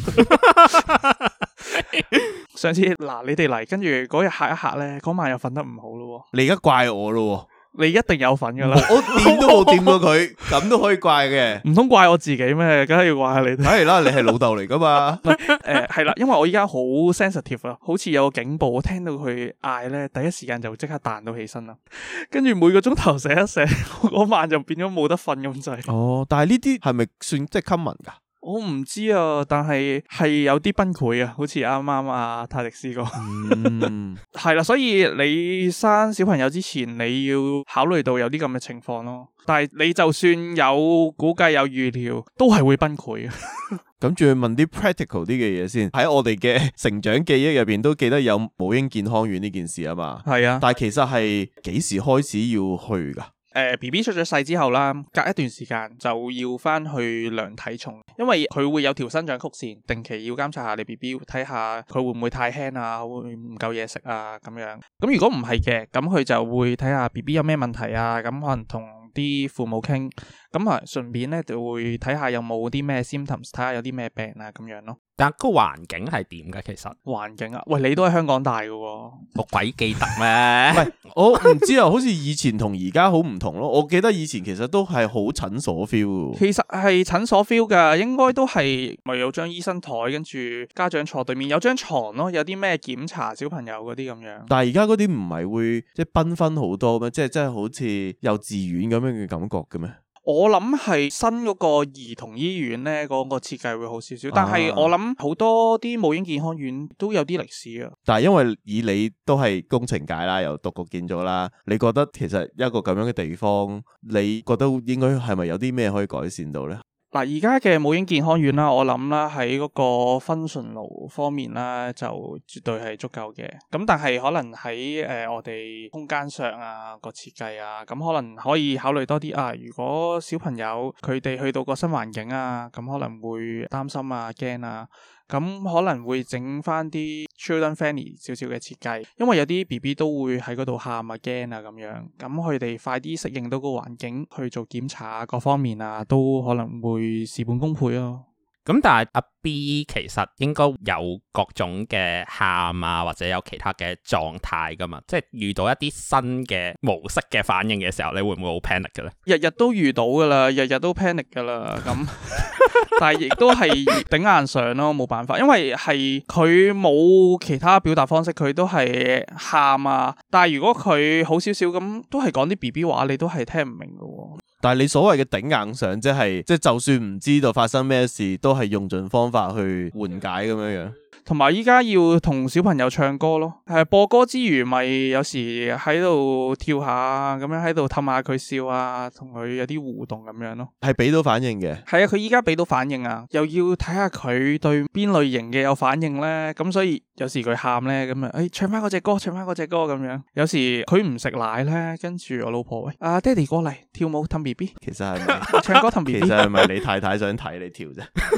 上次嗱你哋嚟，跟住嗰日嚇一嚇咧，嗰晚又瞓得唔好咯。 你而家怪我咯？ 你一定有份噶啦， 我掂都冇掂過佢，咁都可以怪嘅？唔通怪我自己咩？梗係要怪下你哋。 梗係啦，你係老豆嚟噶嘛？ 誒係啦，因為我依家好 sensitive 啊，好似有個警報，我聽到佢嗌咧，第一時間就即刻彈到起身啦。跟住每個鐘頭醒一醒，嗰晚就變咗冇得瞓咁滯。 哦，但係呢啲係咪算即係 common 噶？ 我唔知啊，但係係有啲崩潰啊，好似啱啱阿泰迪斯講，嗯，係啦，所以你生小朋友之前，你要考慮到有啲咁嘅情況咯。但係你就算有估計有預料，都係會崩潰嘅。 咁仲要問啲 practical 啲嘅嘢先。喺我哋嘅成長記憶入邊都記得有母嬰健康院呢件事啊嘛。係啊，但係其實係幾時開始要去噶？ 誒 B B 出咗世之後啦，隔一段時間就要翻去量體重，因為佢會有條生長曲線，定期要監察下你 B B， 睇下佢會唔會太輕啊，會唔夠嘢食啊咁樣。咁如果唔係嘅，咁佢就會睇下 B B 有咩問題啊，咁可能同啲父母傾，咁啊順便咧就會睇下有冇啲咩 symptoms， 睇下有啲咩病啊咁樣咯。 但個環境係點嘅？其實環境啊，喂，你都喺香港大嘅喎， 我鬼記得咩？ 唔係，我唔知啊，好似以前同而家好唔同咯。我記得以前其實都係好診所 feel。 其實係診所 feel 噶，應該都係咪有張醫生台，跟住家長坐對面，有張床咯，有啲咩檢查小朋友嗰啲咁樣。 但係而家嗰啲唔係會即係繽紛好多咩？即係真係好似幼稚園咁樣嘅感覺嘅咩？ 我諗係新嗰個兒童醫院咧，嗰個設計會好少少，但係我諗好多啲母嬰健康院都有啲歷史啊。 但係因為以你都係工程界啦，又讀過建築啦，你覺得其實一個咁樣嘅地方，你覺得應該係咪有啲咩可以改善到呢？ 嗱，而家嘅母嬰健康院啦，我諗啦喺嗰個 functional 方面啦，就絕對係足夠嘅。咁但係可能喺誒、呃、我哋空間上啊個設計啊，咁可能可以考慮多啲啊。如果小朋友佢哋去到個新環境啊，咁可能會擔心啊、驚啊。咁可能會整翻啲 children friendly 少少嘅設計，因為有啲 B B 都會喺嗰度喊啊、驚啊咁樣，咁佢哋快啲適應到個環境去做檢查啊，各方面啊都可能會事半功倍咯。 咁但係阿 B 其實應該有各種嘅喊啊，或者有其他嘅狀態噶嘛，即係遇到一啲新嘅模式嘅反應嘅時候，你會唔會好 panic 嘅咧？ 日日都遇到噶啦，日日都 panic 噶啦，咁但係亦都係頂硬上咯，冇辦法，因為係佢冇其他表達方式，佢都係喊啊。但係如果佢好少少咁，都係講啲 B B 話，你都係聽唔明噶。 但係你所謂嘅頂硬上，即係即係就算唔知道發生咩事，都係用盡方法去緩解咁樣樣。同埋依家要同小朋友唱歌咯，係播歌之餘，咪有時喺度跳下，咁樣喺度氹下佢笑啊，同佢有啲互動咁樣咯。係俾到反應嘅。係啊，佢依家俾到反應啊，又要睇下佢對邊類型嘅有反應咧。咁所以有時佢喊咧，咁啊，誒唱翻嗰隻歌，唱翻嗰隻歌咁樣。有時佢唔食奶咧，跟住我老婆喂，啊爹哋過嚟跳舞氹 B B。其實係咪唱歌氹 B B？其實係咪你太太想睇你跳啫？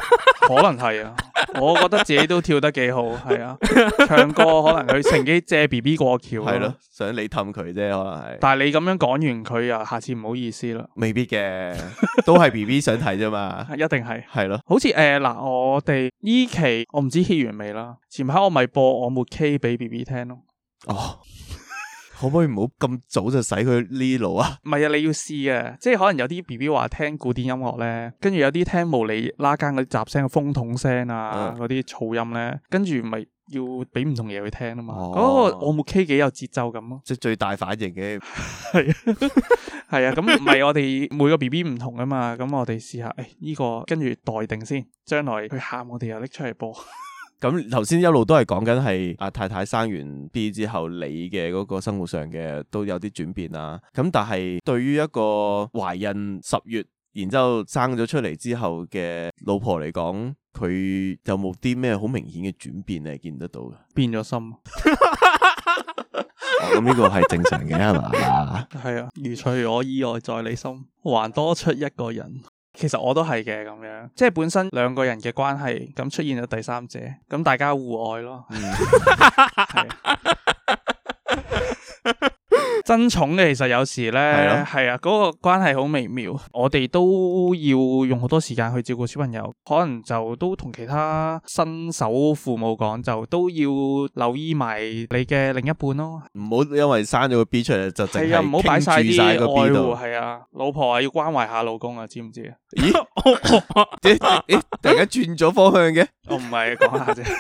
可能係啊，我覺得自己都跳得幾好，係啊，唱歌可能佢乘機借 B B 過橋， 係咯，想你氹佢啫，可能係。 但係你咁樣講完佢啊，下次唔好意思啦。 未必嘅，都係 B B 想睇啫嘛， 一定係。 係咯， 好似誒嗱，我哋呢期我唔知 hit 完未啦，前排我咪播我沒 K 俾 B B 聽咯。 哦。可唔可以唔好咁早就使佢呢路啊？ 唔係啊，你要試啊，即係可能有啲 B B 話聽古典音樂咧，跟住有啲聽無厘啦更嗰啲雜聲、風筒聲啊，嗰啲、嗯、噪音咧，跟住咪要俾唔同嘢去聽啊嘛。嗰、哦、個我沒 K 幾有節奏感咯， 即係最大反應嘅係啊，係啊，咁唔係我哋每個 B B 唔同啊嘛，咁我哋試下，誒、哎、呢、這個跟住待定先，將來佢喊我哋又拎出嚟播。 咁頭先一路都係講緊係阿太太生完 B 之後，你嘅嗰個生活上嘅都有啲轉變啦。咁但係對於一個懷孕十月，然之後生咗出嚟之後嘅老婆嚟講，佢有冇啲咩好明顯嘅轉變你係見得到嘅？ 變咗心。 咁呢、哦、個係正常嘅係嘛？ 係啊，如除我以外在你心，還多出一個人。其實我都係嘅咁樣，即係本身兩個人嘅關係，咁出現咗第三者，咁大家互愛咯。嗯，係。爭寵嘅其實有時咧，係啊，嗰個關係好微妙，我哋都要用好多時間去照顧小朋友，可能就都同其他新手父母講，就都要留意埋你嘅另一半咯。唔好因為生咗個 B 出嚟就淨係唔好擺晒啲愛護， 係啊，老婆啊要關懷下老公啊，知唔知啊？ 咦？咦？突然間轉咗方向嘅？ 我唔係講下啫。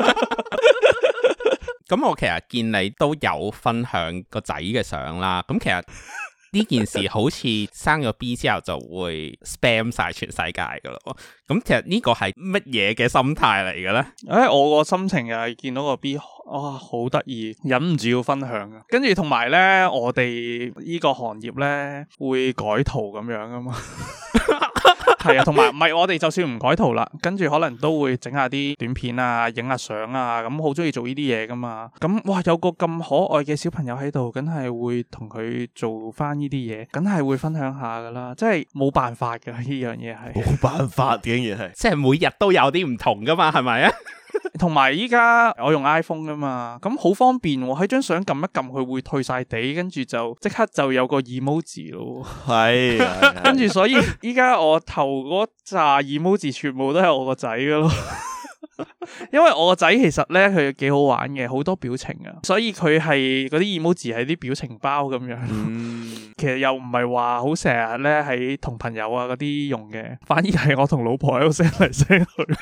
咁我其實見你都有分享個仔嘅相啦，咁其實呢件事好似生咗 B 之後就會 spam 晒全世界噶咯，咁其實呢個係乜嘢嘅心態嚟嘅咧？ 誒、欸，我個心情又係見到個 B，哇，好得意，忍唔住要分享啊！跟住同埋咧，我哋呢個行業咧會改圖咁樣噶嘛。係啊，同埋唔係我哋就算唔改圖啦，跟住可能都會整下啲短片啊，影下相啊，咁好中意做呢啲嘢噶嘛。咁哇，有個咁可愛嘅小朋友喺度，梗係會同佢做翻呢啲嘢，梗係會分享下噶啦。即係冇辦法噶，呢樣嘢係冇辦法，竟然係即係每日都有啲唔同噶嘛，係咪啊？ 同埋依家我用 iPhone 噶嘛，咁好方便喎，喺張相撳一撳佢會退晒地，跟住就即刻就有個 emoji 咯。係，跟住所以依家我頭嗰扎 emoji 全部都係我個仔噶咯。因為我個仔其實咧佢幾好玩嘅，好多表情啊，所以佢係嗰啲 emoji 係啲表情包咁樣。嗯，其實又唔係話好成日咧喺同朋友啊嗰啲用嘅，反而係我同老婆喺度 send 嚟 send 去。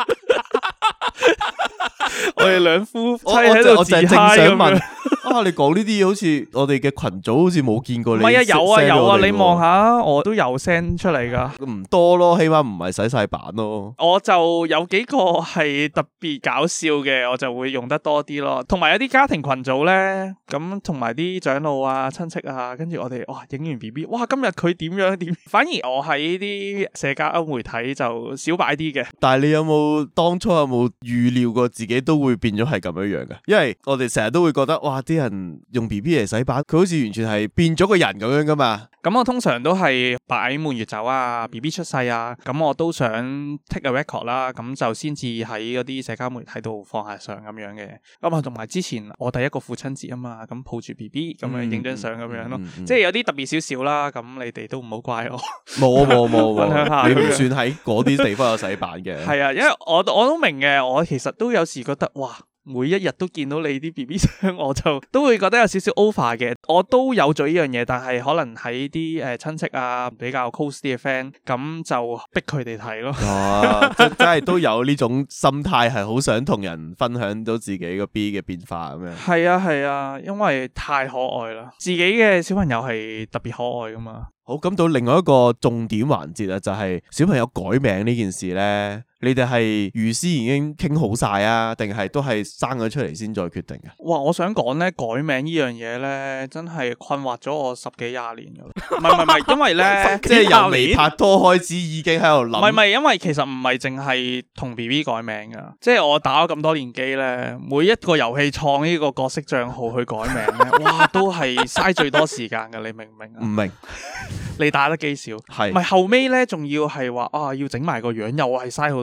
我哋兩夫妻喺度自嗨咁樣。 啊！你講呢啲嘢好似我哋嘅群組好似冇見過你。唔係啊， 有啊有啊，你望下，我都有 send 出嚟噶。 唔多咯，起碼唔係洗晒版咯。 我就有幾個係特別搞笑嘅，我就會用得多啲咯。同埋有啲家庭群組咧，咁同埋啲長老啊、親戚啊，跟住我哋哇影完 B B， 哇今日佢點樣點？反而我喺啲社交媒體就少擺啲嘅。 但係你有冇當初有冇預料過自己都會變咗係咁樣樣嘅？因為我哋成日都會覺得哇啲人用 B B 嚟洗版，佢好似完全係變咗個人咁樣噶嘛。 咁我通常都係擺滿月酒啊 ，B B 出世啊，咁我都想 take a record 啦，咁就先至喺嗰啲社交媒體度放下相咁樣嘅。咁啊，同埋之前我第一個父親節啊嘛，咁抱住 B B 咁樣影張相咁樣咯，嗯嗯嗯、即係有啲特別少少啦。咁你哋都唔好怪我。冇冇冇，分享下， 你唔算喺嗰啲地方有洗版嘅。 係啊，因為我我都明嘅，我其實都有時覺得哇。每一日都見到你啲 B B 相，我就都會覺得有少少 over 嘅。我都有做呢樣嘢，但係可能喺啲誒親戚啊比較 close 啲嘅 friend，咁就逼佢哋睇咯。 哦，即真係都有呢種心態，係好想同人分享到自己個 B 嘅變化咁樣。 係啊係啊，因為太可愛啦，自己嘅小朋友係特別可愛噶嘛。 好，咁到另外一個重點環節啊，就係小朋友改名呢件事咧，你哋係預先已經傾好晒啊，定係都係生咗出嚟先再決定啊？ 哇！我想講咧，改名呢樣嘢咧，真係困惑咗我十幾廿年噶啦。唔係唔係唔係，因為咧， 即係由未拍拖開始已經喺度諗。 唔係唔係，因為其實唔係淨係同 B B 改名噶，即係我打咗咁多年機咧，每一個遊戲創呢個角色賬號去改名咧，哇，都係嘥最多時間噶，你明唔明啊？ 唔明。 你打得幾少？係，唔係後尾咧，仲要係話啊，要整埋個樣，又係嘥好多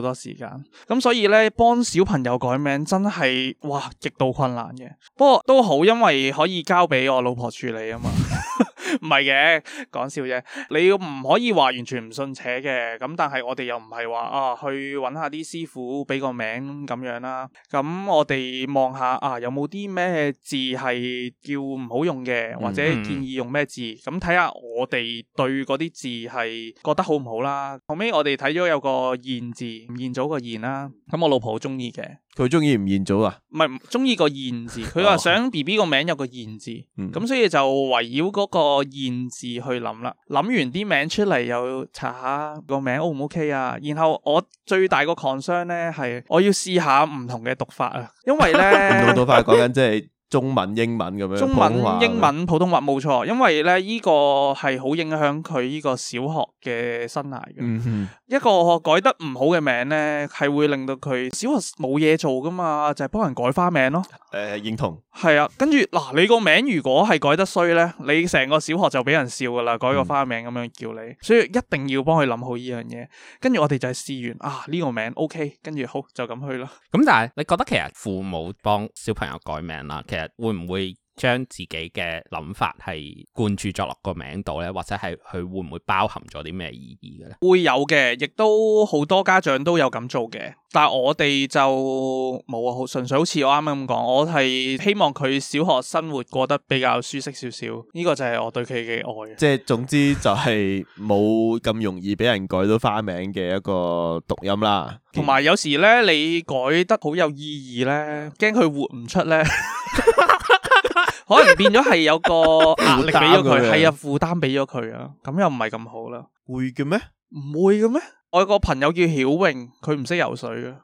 多時間。咁所以咧，幫小朋友改名真係哇極度困難嘅。不過都好，因為可以交俾我老婆處理啊嘛。唔係嘅，講笑啫。你唔可以話完全唔信邪嘅，咁但係我哋又唔係話啊去揾下啲師傅俾個名咁樣啦。咁我哋望下啊有冇啲咩字係叫唔好用嘅，或者建議用咩字，咁睇下我哋對嗰啲字係覺得好唔好啦。後尾我哋睇咗有個燕字，吳彥祖個燕啦，咁我老婆好中意嘅。 佢中意吳彥祖啊？唔係中意個燕字，佢話想 B B 個名有個燕字，咁、嗯、所以就圍繞嗰個燕字去諗啦。諗完啲名出嚟，又查下個名 O 唔 OK 啊。然後我最大個 concern 咧係，我要試下唔同嘅讀法啊，因為咧唔同讀法講緊即係。中文、英文咁樣， 中文、英文、普通話冇錯，因為咧呢個係好影響佢呢個小學嘅生涯嘅。嗯哼，一個改得唔好嘅名咧，係會令到佢小學冇嘢做噶嘛，就係幫人改花名咯。 誒，認同。係啊，跟住嗱，你個名如果係改得衰咧，你成個小學就俾人笑噶啦，改個花名咁樣叫你，嗯、所以一定要幫佢諗好呢樣嘢。跟住我哋就係試完啊呢個名 OK，跟住好就咁去咯。 咁但係你覺得其實父母幫小朋友改名啦，其實會唔會將自己嘅諗法係灌注咗落個名度咧，或者係佢會唔會包含咗啲咩意義嘅咧？ 會有嘅，亦都好多家長都有咁做嘅，但係我哋就冇啊，好純粹好似我啱啱咁講，我係希望佢小學生活過得比較舒適少少，呢個就係我對佢嘅愛。即係總之就係冇咁容易俾人改到花名嘅一個讀音啦。 同埋有，有時咧，你改得好有意義咧，驚佢活唔出咧。可能變咗係有個壓力俾咗佢，係啊，負擔俾咗佢啊，咁又唔係咁好啦。 會嘅咩？ 唔會嘅咩？我有個朋友叫曉穎，佢唔識游水嘅。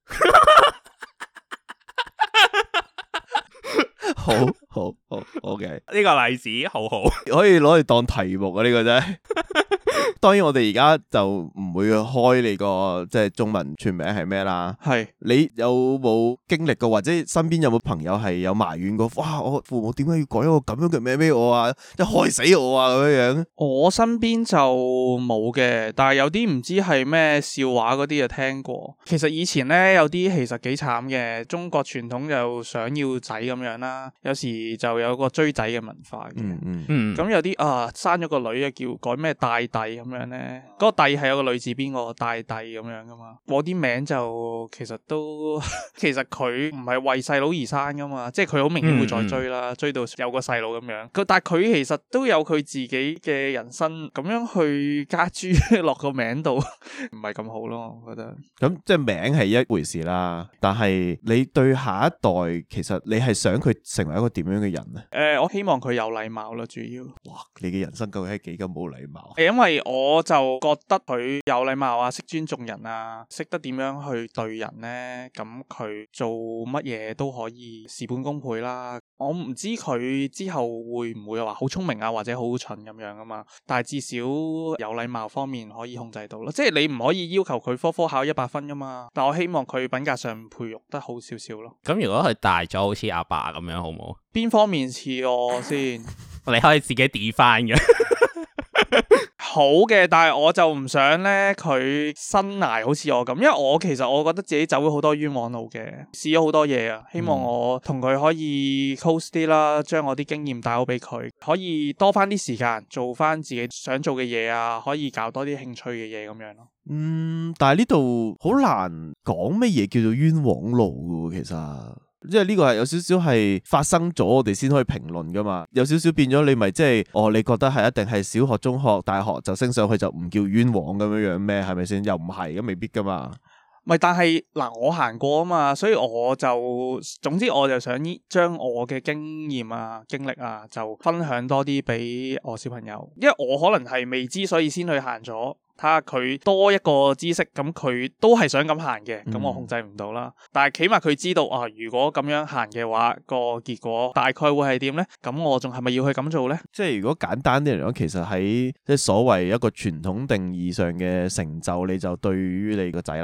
好好好 ，OK，呢個例子好好， 可以攞嚟當題目啊！呢、這個真係。當然我哋而家就唔會開你個即係中文全名係咩啦。係是你有冇經歷過，或者身邊有冇朋友係有埋怨過？哇！我父母點解要改一個咁樣嘅名俾我啊？即係害死我啊！咁樣樣。我身邊就冇嘅，但係有啲唔知係咩笑話嗰啲就聽過。其實以前咧有啲其實幾慘嘅，中國傳統就想要仔咁樣啦，有時就有個追仔嘅文化嘅。嗯嗯嗯。咁有啲啊生咗個女啊叫改咩大帝咁樣咧，嗰、嗰個帝係有個女字邊個大帝咁樣噶嘛。我啲名就其實都其實佢唔係為細佬而生噶嘛，即係佢好明顯會再追啦，嗯、追到有個細佬咁樣。但係佢其實都有佢自己嘅人生，咁樣去加諸落個名度，唔係咁好咯，我覺得。咁即係名係一回事啦，但係你對下一代，其實你係想佢成為一個點樣嘅人咧？誒、呃，我希望佢有禮貌咯，主要。哇，你嘅人生究竟係幾咁冇禮貌？因為我就覺得佢有禮貌啊，識尊重人啊，識得點樣去對人咧，咁佢做乜嘢都可以事半功倍啦。我唔知佢之後會唔會話好聰明啊，或者好蠢咁樣啊嘛，但係至少有禮貌方面可以控制到咯。即係你唔可以要求佢科科考一百分噶嘛，但我希望佢品格上培育得好少少咯。咁如果佢大咗好似阿爸咁樣好唔好？邊方面似我先？你可以自己 define 嘅。好嘅，但係我就唔想咧佢生涯好似我咁，因為我其實我覺得自己走咗好多冤枉路嘅，試咗好多嘢啊，希望我同佢可以 close 啲啦，將我啲經驗帶好俾佢，可以多翻啲時間做翻自己想做嘅嘢啊，可以搞多啲興趣嘅嘢咁樣咯。嗯，但係呢度好難講乜嘢叫做冤枉路嘅，其實。即係呢個係有少少係發生咗，我哋先可以評論噶嘛。有少少變咗，你咪即係哦？你覺得係一定係小學、中學、大學就升上去就唔叫冤枉咁樣樣咩？係咪先？又唔係咁，未必噶嘛。咪但係嗱，我行過啊嘛，所以我就總之我就想將我嘅經驗啊、經歷啊，就分享多啲俾我小朋友，因為我可能係未知，所以先去行咗。睇下佢多一個知識，咁佢都係想咁行嘅，咁我控制唔到啦。嗯、但係起碼佢知道啊，如果咁樣行嘅話，個結果大概會係點呢？咁我仲係咪要去咁做呢？即係如果簡單啲嚟講，其實喺即係所謂一個傳統定義上嘅成就，你就對於你個仔啦，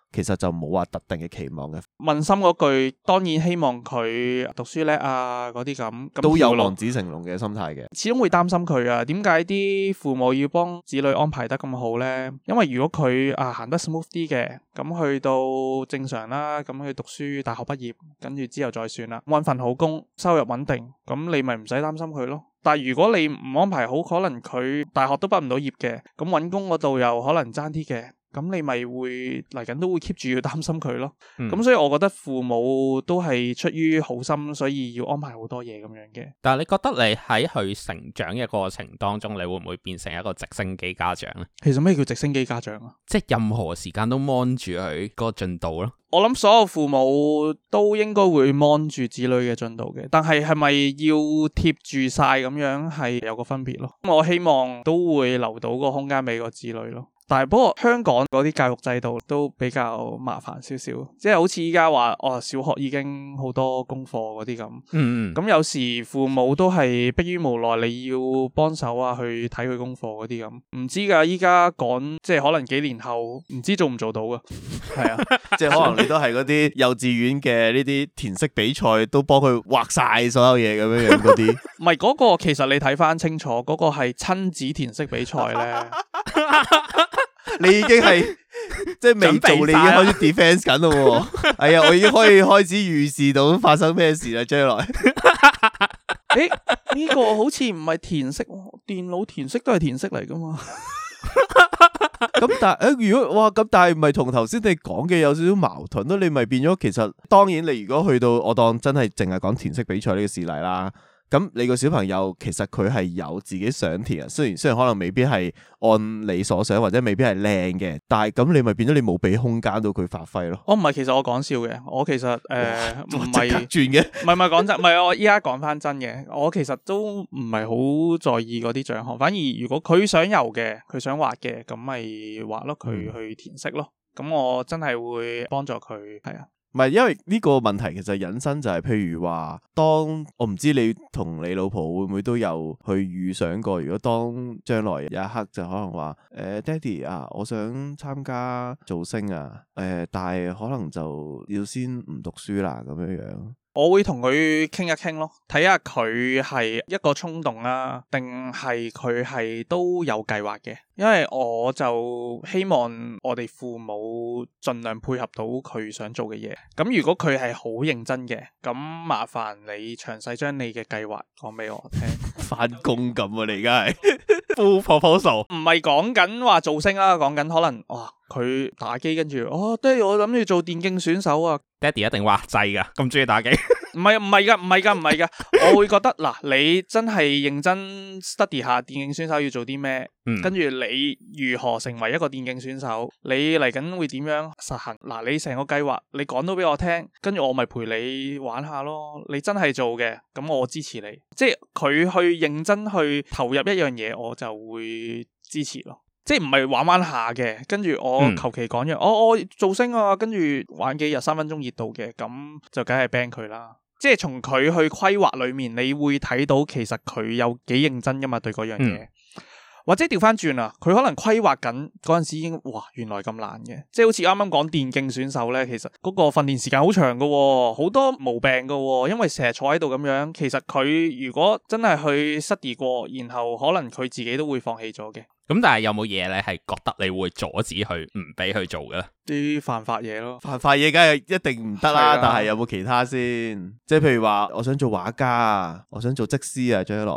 其實就冇話特定嘅期望嘅。 問心嗰句，當然希望佢讀書叻啊，嗰啲咁， 都有望子成龍嘅心態嘅。 始終會擔心佢啊，點解啲父母要幫子女安排得咁好呢？因為如果佢啊行得 smooth 啲嘅，咁去到正常啦，咁去讀書，大學畢業，跟住之後再算啦，搵份好工，收入穩定，咁你咪唔使擔心佢咯。但係如果你唔安排好，可能佢大學都畢唔到業嘅，咁搵工嗰度又可能爭啲嘅。咁你咪會嚟緊都會 keep 住要擔心佢咯。咁、嗯、所以我覺得父母都係出於好心，所以要安排好多嘢咁樣嘅。 但係你覺得你喺佢成長嘅過程當中，你會唔會變成一個直升機家長咧？ 其實咩叫直升機家長啊？ 即係任何時間都 mon 住佢個進度咯。 我諗所有父母都應該會 mon 住子女嘅進度嘅，但係係咪要貼住晒咁樣係有個分別咯。我希望都會留到個空間俾個子女咯。但係不過香港嗰啲教育制度都比較麻煩少少，即係好似依家話哦，小學已經好多功課嗰啲咁。嗯嗯。咁有時父母都係迫於無奈，你要幫手啊，去睇佢功課嗰啲咁。唔知噶，依家講即係可能幾年後，唔知做唔做到噶。係啊， 即係可能你都係嗰啲幼稚園嘅呢啲填色比賽，都幫佢畫晒所有嘢咁樣樣嗰啲。 唔係嗰個，其實你睇翻清楚，嗰個係親子填色比賽咧。 你已經係即係未做，你已經開始 defense 緊咯。係啊，我已經可以開始預示到發生咩事啦，將來。 誒，呢個好似唔係填色，電腦填色都係填色嚟噶嘛。 咁但係誒，如果哇咁，但係唔係同頭先你講嘅有少少矛盾咯？你咪變咗，其實當然你如果去到我當真係淨係講填色比賽呢個事例啦。咁你個小朋友其實佢係有自己想填啊，雖然雖然可能未必係按你所想或者未必係靚嘅，但係咁你咪變咗你冇俾空間到佢發揮咯。 哦，唔係，其實我講笑嘅，我其實誒唔係轉嘅， 唔係唔係講真，唔係我依家講翻真嘅，我其實都唔係好在意嗰啲獎項，反而如果佢想游嘅，佢想滑嘅，咁咪滑咯，佢去填色咯，咁、嗯、我真係會幫助佢，係啊。 唔係，因為呢個問題其實引申就係，譬如話，當我唔知你同你老婆會唔會都有去預想過，如果當將來有一刻就可能話，誒、呃，爹哋啊，我想參加造星啊，誒、呃，但係可能就要先唔讀書啦，咁樣樣。 我會同佢傾一傾咯，睇下佢係一個衝動啦，定係佢係都有計劃嘅。因為我就希望我哋父母盡量配合到佢想做嘅嘢。咁如果佢係好認真嘅，咁麻煩你詳細將你嘅計劃講俾我聽。 返工咁啊，你而家係 full proposal， 唔係講緊話造星啦，講緊可能哇佢打機跟住哦，爹哋我諗住做電競選手啊。 爹哋一定話制噶，咁中意打機。 唔係唔係噶，唔係噶，唔係噶。我會覺得嗱，你真係認真 study 下電競選手要做啲咩，嗯、跟住你如何成為一個電競選手，你嚟緊會點樣實行？嗱，你成個計劃你講到俾我聽，跟住我咪陪你玩下咯。你真係做嘅，咁我支持你。即係佢去認真去投入一樣嘢，我就會支持咯。即係唔係玩玩下嘅，跟住我求其講咗，我我造星啊，跟住玩幾日三分鐘熱度嘅，咁就梗係 ban 佢啦。即係從佢去規劃裏面，你會睇到其實佢有幾認真噶嘛，對嗰樣嘢。嗯、或者調翻轉啊，佢可能規劃緊嗰陣時已經，哇，原來咁難嘅。即係好似啱啱講電競選手咧，其實嗰個訓練時間好長噶，好多毛病噶，因為成日坐喺度咁樣。其實佢如果真係去 study 過，然後可能佢自己都會放棄咗嘅。 咁但係有冇嘢你係覺得你會阻止佢唔俾佢做嘅咧？ 啲犯法嘢咯， 犯法嘢梗係一定唔得啦。但係有冇其他先？即係譬如話，我想做畫家啊，我想做則師啊，將來。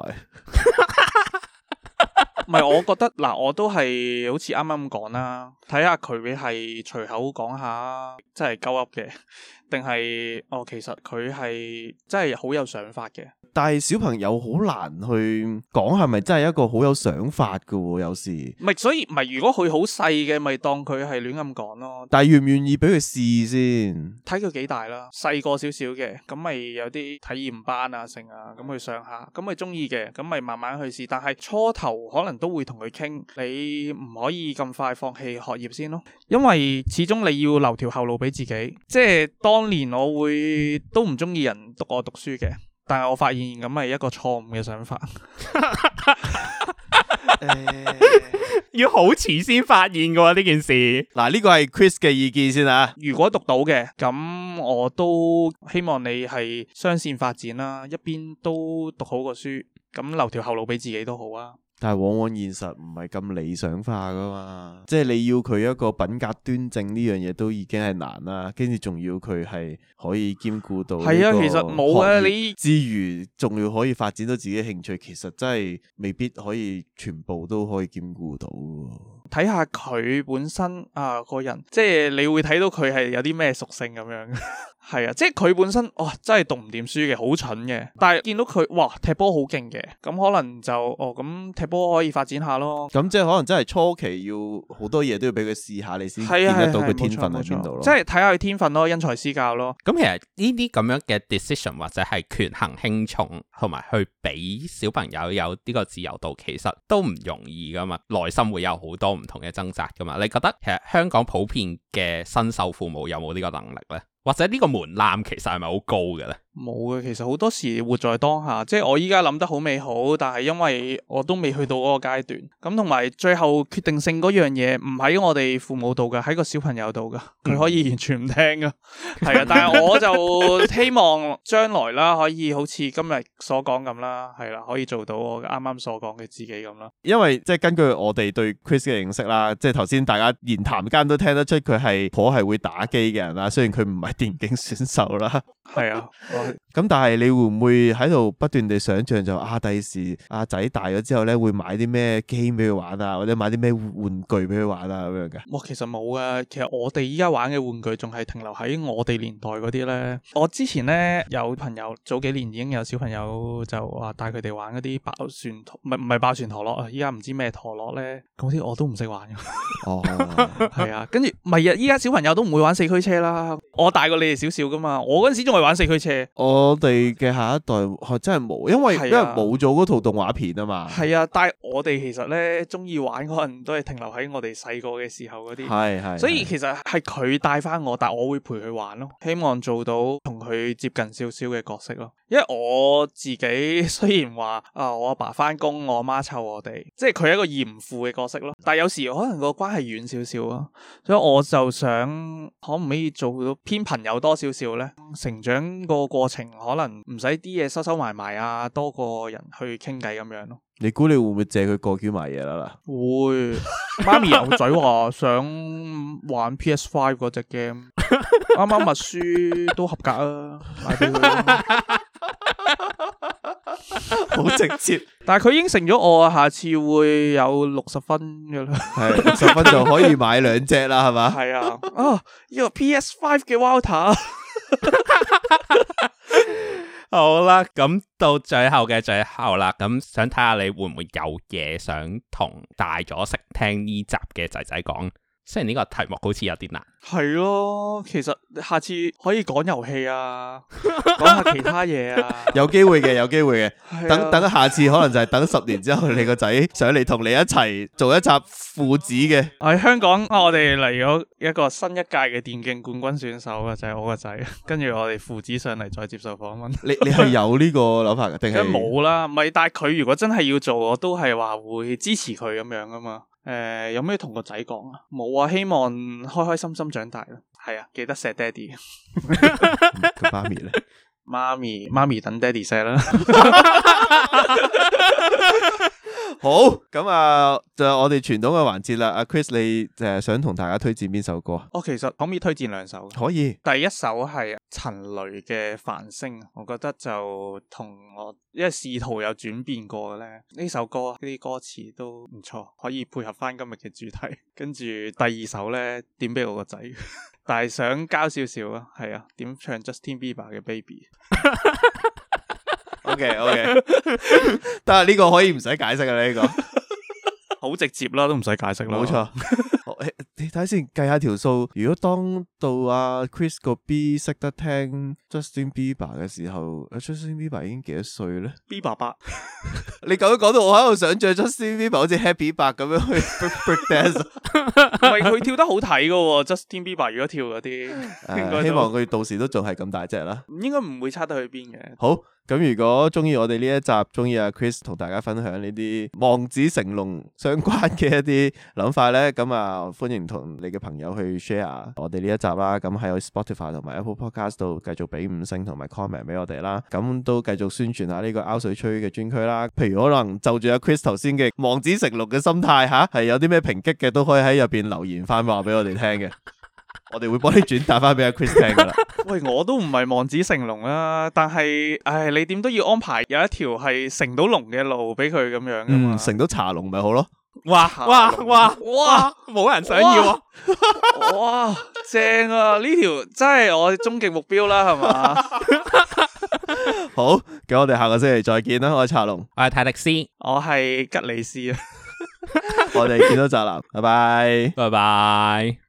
唔係，我覺得嗱，我都係好似啱啱咁講啦，睇下佢係隨口講下，真係鳩噏嘅，定係哦，其實佢係真係好有想法嘅。 但係小朋友好難去講係咪真係一個好有想法㗎喎，有時。 唔係，所以唔係，如果佢好細嘅，咪當佢係亂咁講咯。 但係願唔願意俾佢試先？ 睇佢幾大啦，細個少少嘅，咁咪有啲體驗班啊，成啊，咁去上下，咁咪中意嘅，咁咪慢慢去試。但係初頭可能都會同佢傾，你唔可以咁快放棄學業先咯，因為始終你要留條後路俾自己。即係當年我會都唔中意人督我讀書嘅。但係我發現咁係一個錯誤嘅想法。 完要好遲先發現嘅喎呢件事。 嗱，呢個係 Chris 嘅意見先啊。 如果讀到嘅，咁我都希望你係雙線發展啦，一邊都讀好個書，咁留條後路俾自己都好啊。 但係往往現實唔係咁理想化噶嘛，即係你要佢一個品格端正呢樣嘢都已經係難啦，跟住仲要佢係可以兼顧到係啊，其實冇啊，你之餘仲要可以發展到自己興趣，其實真係未必可以全部都可以兼顧到。 睇下佢本身啊個人，即係你會睇到佢係有啲咩屬性咁樣。係啊，即係佢本身哇真係讀唔掂書嘅，好蠢嘅。但係見到佢哇踢波好勁嘅，咁可能就哦咁踢波可以發展下咯。 咁即係可能真係初期要好多嘢都要俾佢試下，你先見得到佢天分喺邊度咯。 即係睇下佢天分咯，因材施教咯。 咁其實呢啲咁樣嘅 decision 或者係權衡輕重，同埋去俾小朋友有呢個自由度，其實都唔容易噶嘛。內心會有好多唔同嘅掙扎噶嘛。你覺得其實香港普遍嘅新手父母有冇呢個能力呢？或者呢個門檻其實係咪好高嘅呢？ 冇嘅，其實好多時活在當下，即係我依家諗得好美好，但係因為我都未去到嗰個階段，咁同埋最後決定性嗰樣嘢唔喺我哋父母度噶，喺個小朋友度噶，佢可以完全唔聽噶，係啊，但係我就希望將來啦，可以好似今日所講咁啦，係啦，可以做到我啱啱所講嘅自己咁啦。因為即係根據我哋對 Chris 嘅認識啦，即係頭先大家言談間都聽得出佢係頗係會打機嘅人啦，雖然佢唔係電競選手啦， 係啊。 咁但係你會唔會喺度不斷地想象就啊第時阿仔大咗之後咧會買啲咩 game 俾佢玩啊，或者買啲咩玩具俾佢玩啊咁樣嘅？ 哇，其實冇啊，其實我哋依家玩嘅玩具仲係停留喺我哋年代嗰啲咧。我之前咧有朋友早幾年已經有小朋友就話帶佢哋玩嗰啲爆旋陀，唔係唔係爆旋陀螺啊，依家唔知咩陀螺咧，嗰啲我都唔識玩嘅。哦，係啊，跟住唔係啊，依家小朋友都唔會玩四驅車啦。我大過你哋少少噶嘛，我嗰陣時仲係玩四驅車。 我哋嘅下一代真係冇，因為、啊、因為冇咗嗰套動畫片啊嘛。 係啊，但係我哋其實咧中意玩可能都係停留喺我哋細個嘅時候嗰啲。係係，所以其實係佢帶翻我，但係我會陪佢玩咯，希望做到同佢接近少少嘅角色咯。因為我自己雖然話啊，我阿爸翻工，我阿媽湊我哋，即係佢係一個嚴父嘅角色咯。但係有時可能個關係遠少少啊，所以我就想可唔可以做到偏朋友多少少咧？成長個過程可能唔使啲嘢收收埋埋啊，多個人去傾偈咁樣咯。 你估你會唔會借佢過橋買嘢啦？ 會，媽咪有仔話想玩 P S 五 嗰隻 game，啱啱默書都合格啊，買俾佢。 好直接， 但係佢應承咗我啊，下次會有六十分嘅啦。 係六十分就可以買兩隻啦，係嘛？ 係啊，啊呢個 P S 五 嘅 Walter。 好啦，咁到最後嘅最後啦，咁想睇下你會唔會有嘢想同大咗識聽呢集嘅仔仔講？雖然呢個題目好似有啲難。 係咯，其實下次可以講遊戲啊，講下其他嘢啊。 有機會嘅，有機會嘅。等等下次可能就係等十年之後，你個仔上嚟同你一齊做一集父子嘅。 喺香港，我哋嚟咗一個新一屆嘅電競冠軍選手啊，就係、是、我個仔。跟住我哋父子上嚟再接受訪問。你你係有呢個諗法嘅定係？ 冇啦，唔係。但係佢如果真係要做，我都係話會支持佢咁樣噶嘛。誒、呃，有咩同個仔講啊？冇啊，希望開開心心長大咯。係啊，記得錫爹哋。 咁媽咪咧？ 媽咪，媽咪等爹哋錫啦。 好，咁啊，就我哋傳統嘅環節啦。阿 Chris，你誒想同大家推薦邊首歌？ 我、哦、其實可唔可以推薦兩首？ 可以。 第一首係陳雷嘅《繁星》，我覺得就同我因為仕途有轉變過嘅咧，呢首歌啲歌詞都唔錯，可以配合翻今日嘅主題。跟住第二首咧，點俾我個仔，但係想交少少啊，係啊，點唱 Justin Bieber 嘅 Baby。 OK OK， 但係呢個可以唔使解釋嘅呢個， 好直接啦，都唔使解釋啦。 冇錯， 你睇先計下條數，如果當到阿 Chris 個 B 識得聽 Justin Bieber 嘅時候，阿 Justin Bieber 已經幾多歲咧 ？B 爸爸， 你咁樣講到我喺度想像 Justin Bieber 好似 Happy 伯咁樣去 break dance， 唔係佢跳得好睇噶喎 ，Justin Bieber 如果跳嗰啲， 呃、希望佢到時都仲係咁大隻啦。 應該唔會差得去邊嘅。 好。咁如果中意我哋呢一集，中意阿 Chris 同大家分享呢啲望子成龍相關嘅一啲諗法咧，咁啊歡迎同你嘅朋友去 share 我哋呢一集啦。咁喺 Spotify 同埋 Apple Podcast 度繼續俾五星同埋 comment 俾我哋啦。咁都繼續宣傳下呢個拗水吹嘅專區啦。譬如可能就住阿 Chris 頭先嘅望子成龍嘅心態吓，係有啲咩抨擊嘅，都可以喺入邊留言翻話俾我哋聽嘅。我哋會幫你轉達翻俾阿 Chris 聽噶啦。 喂，我都唔係望子成龍啦，但係，唉，你點都要安排有一條係成到龍嘅路俾佢咁樣噶嘛？ 嗯，成到茶龍咪好咯。 哇哇哇哇，冇人想要啊！ 哇，正啊！呢條真係我終極目標啦，係嘛？ 好，咁我哋下個星期再見啦。我係茶龍， 我係泰迪斯， 我係吉利斯啊。 我哋見到宅男，拜拜， 拜拜。